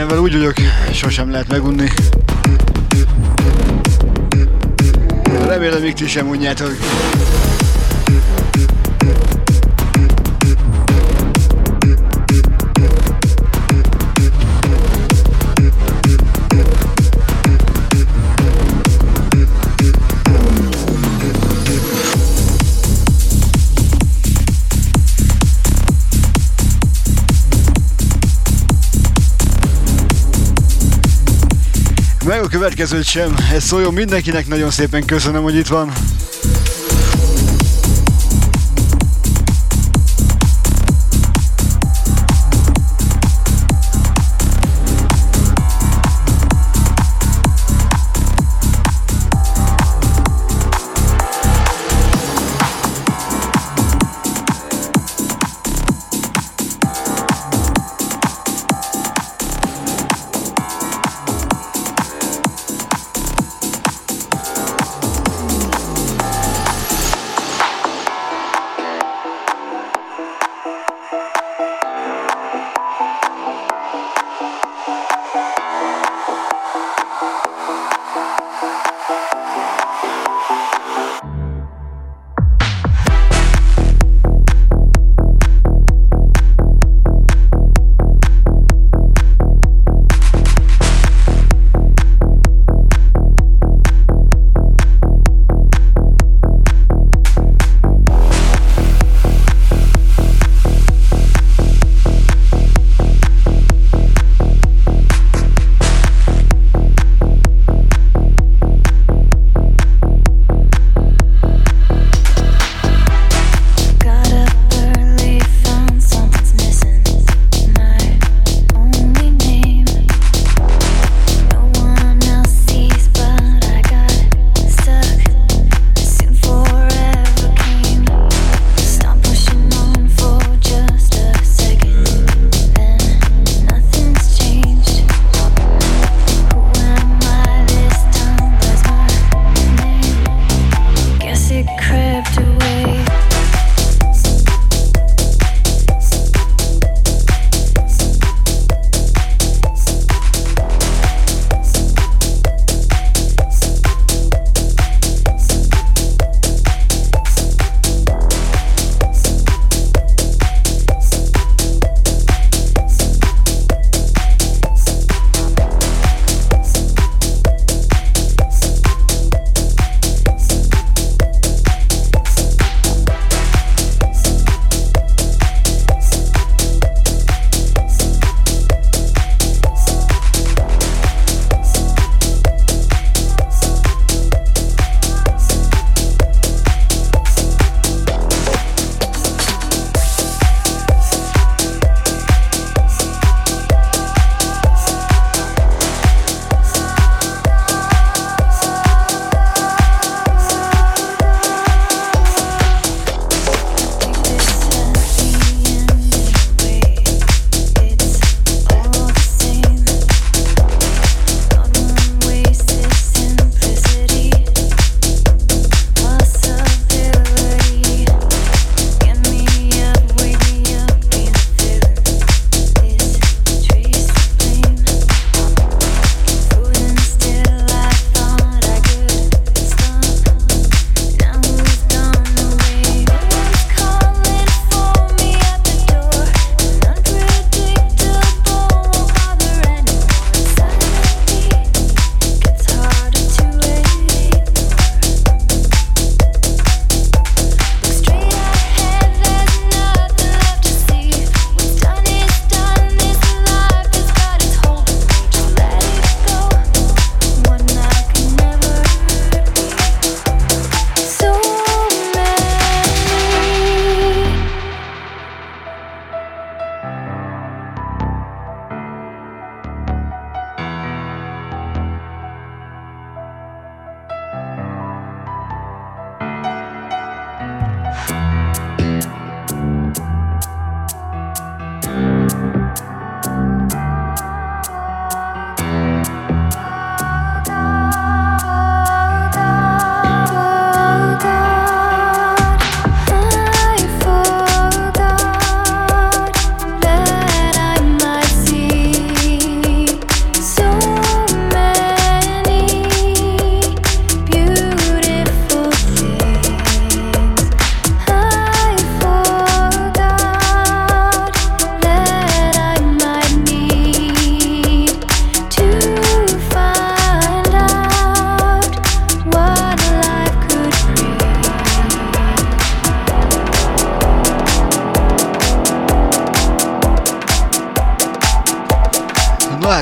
Ezzel úgy vagyok, sosem lehet megunni. Remélem, még ti sem unjátok. Meg a következőt sem, ez szóljon mindenkinek, nagyon szépen köszönöm, hogy itt van.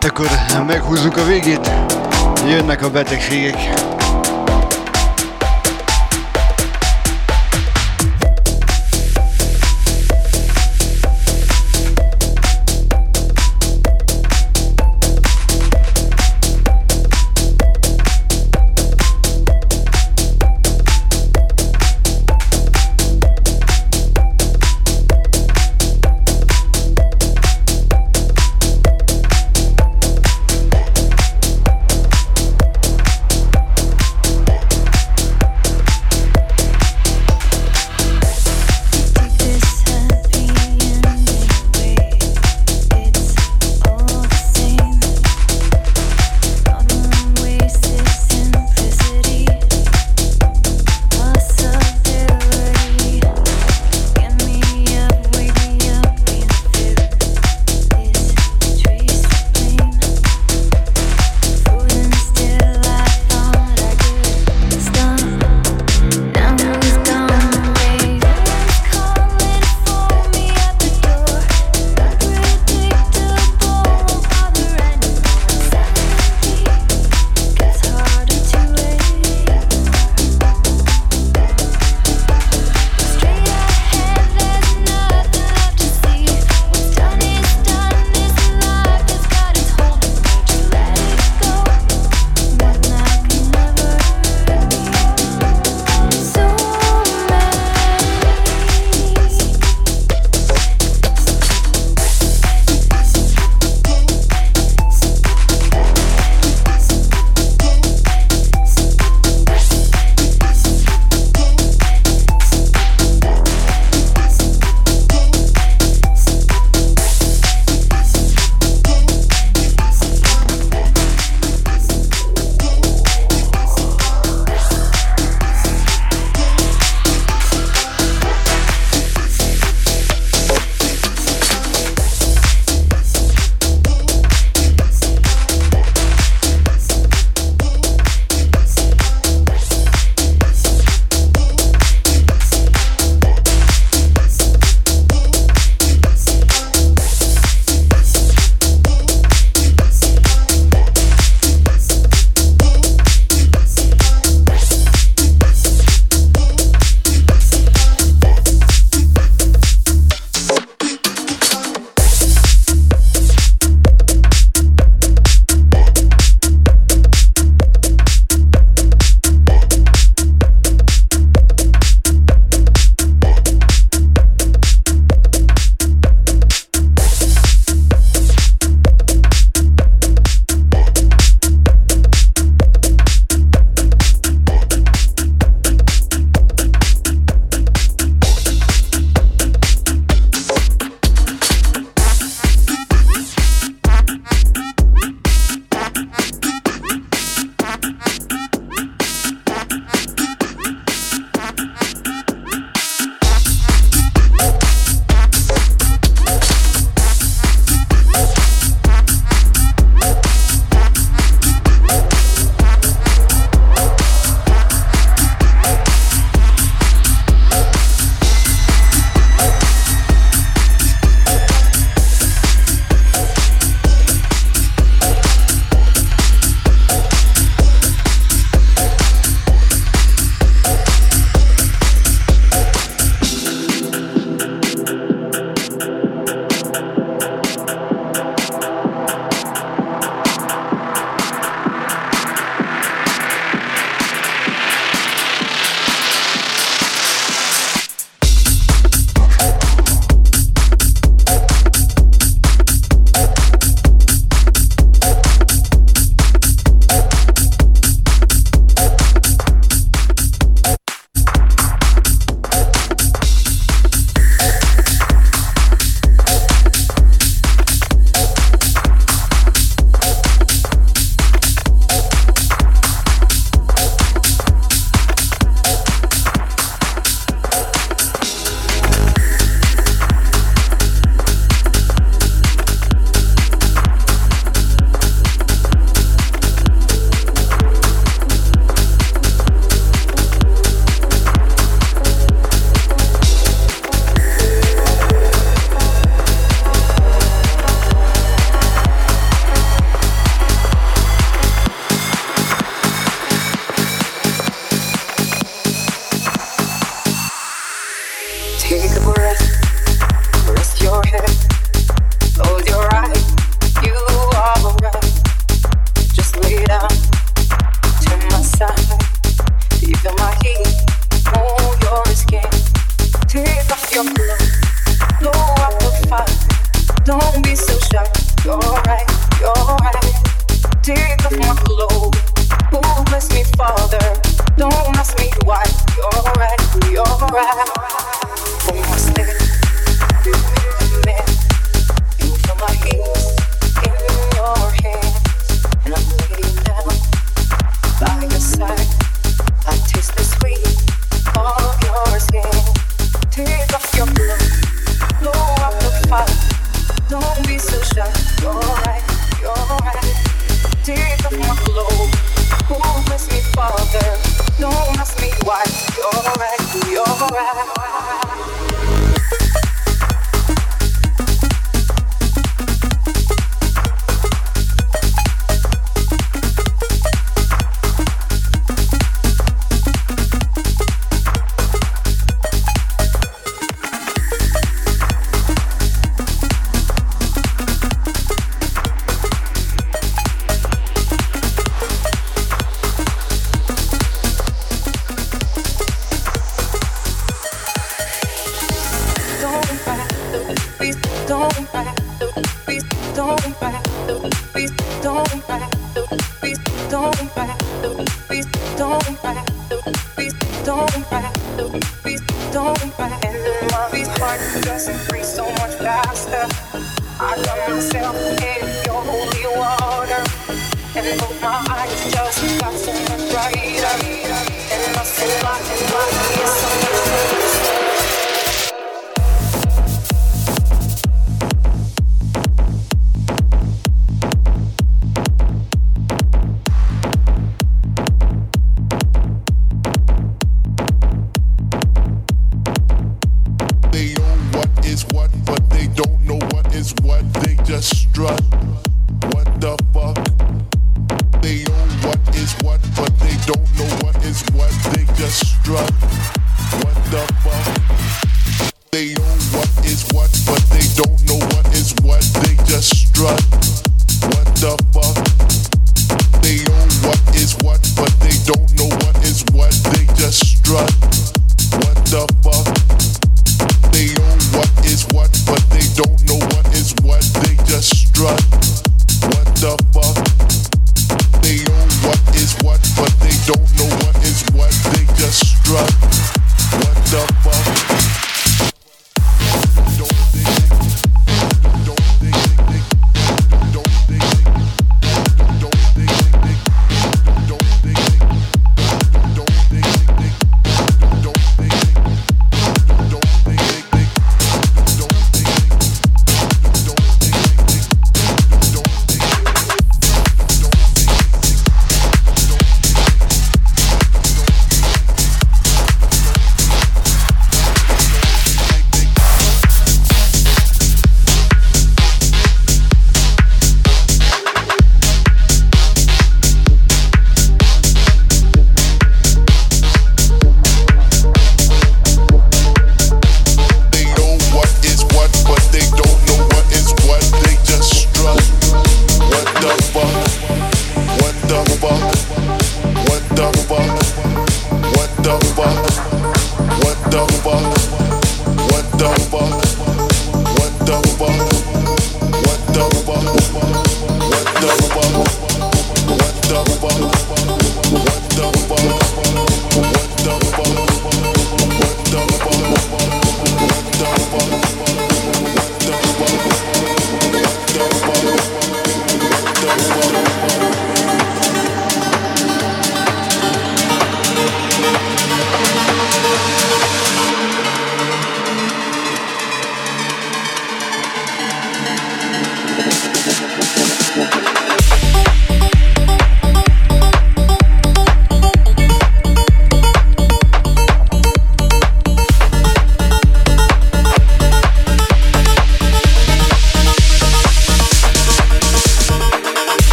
Hát akkor meghúzzuk a végét, jönnek a betegségek.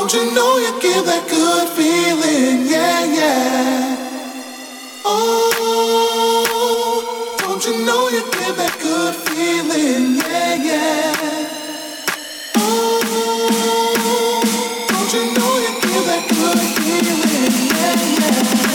Don't you know you give that good feeling, yeah, yeah. Oh, don't you know you give that good feeling, yeah, yeah. Oh, don't you know you give that good feeling, yeah, yeah.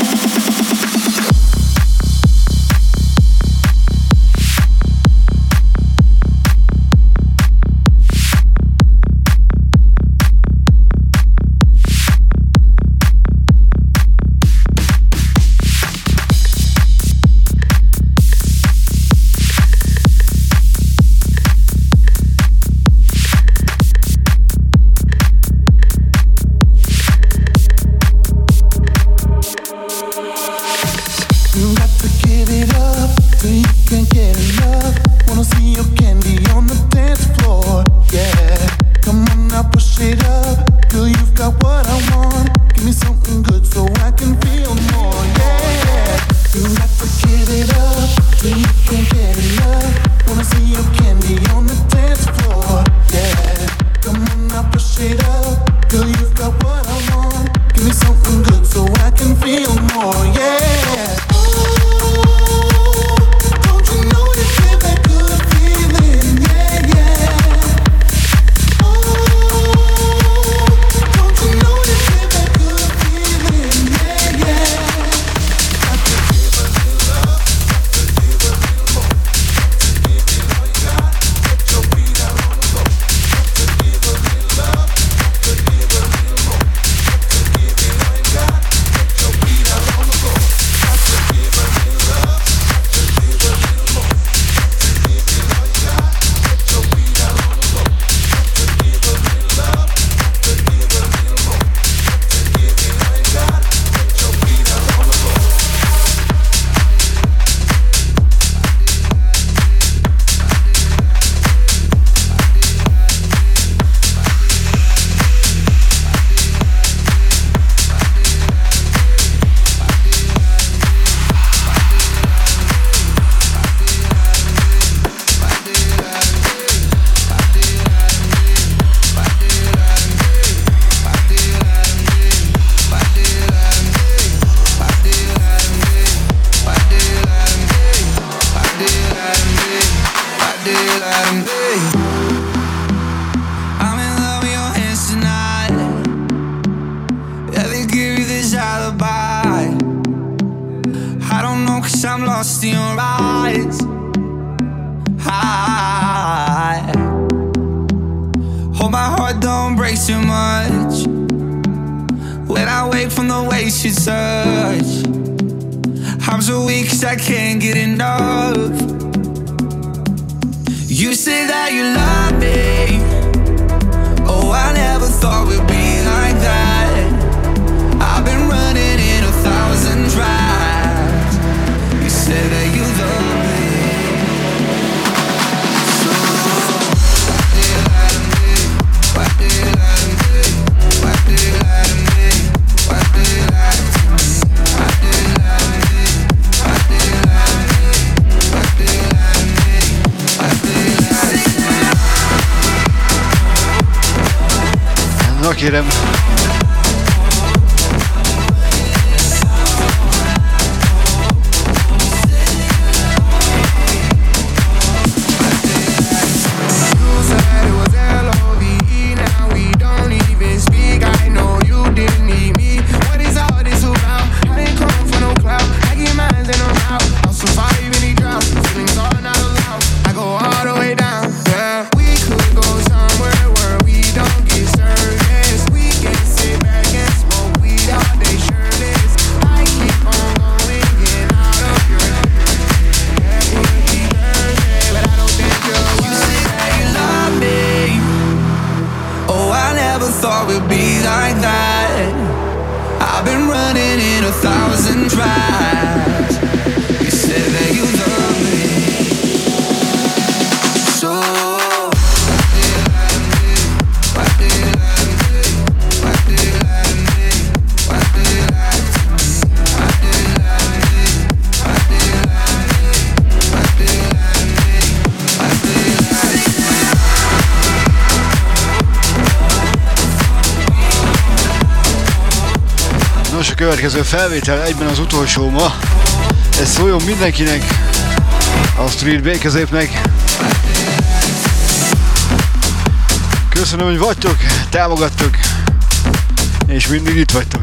Kérem. a következő felvétel, egyben az utolsó ma. Ez szóljon mindenkinek, a Street Békezépnek. Köszönöm, hogy vagytok, támogattok, és mindig itt vagytok.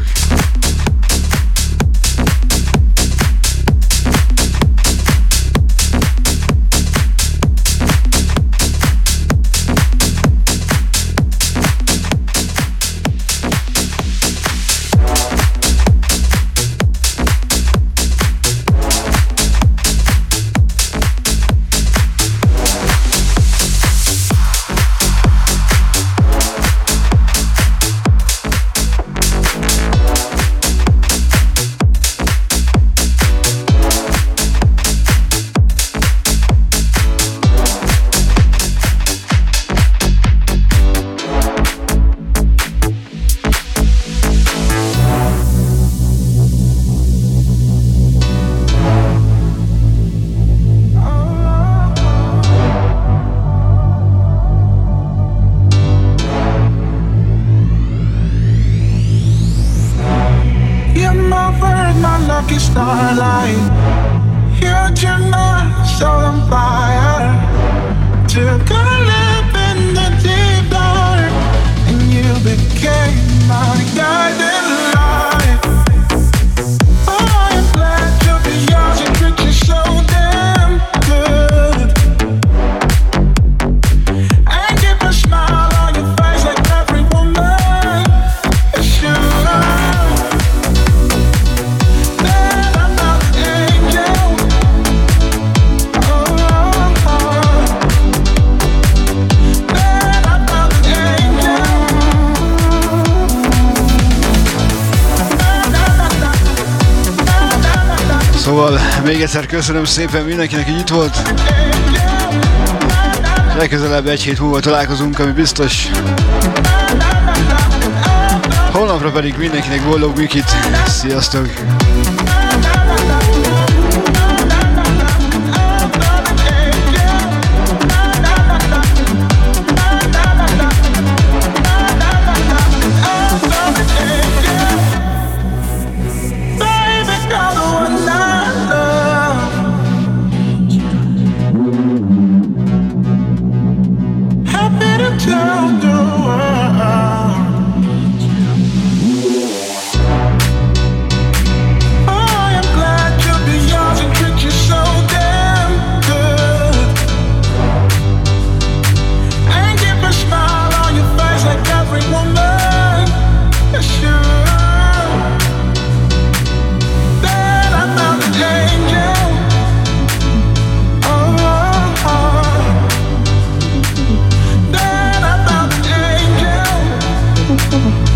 Még egyszer köszönöm szépen mindenkinek, hogy itt volt. Legközelebb egy hét múlva találkozunk, ami biztos. Holnapra pedig mindenkinek boldog Mikit. Sziasztok! Oh,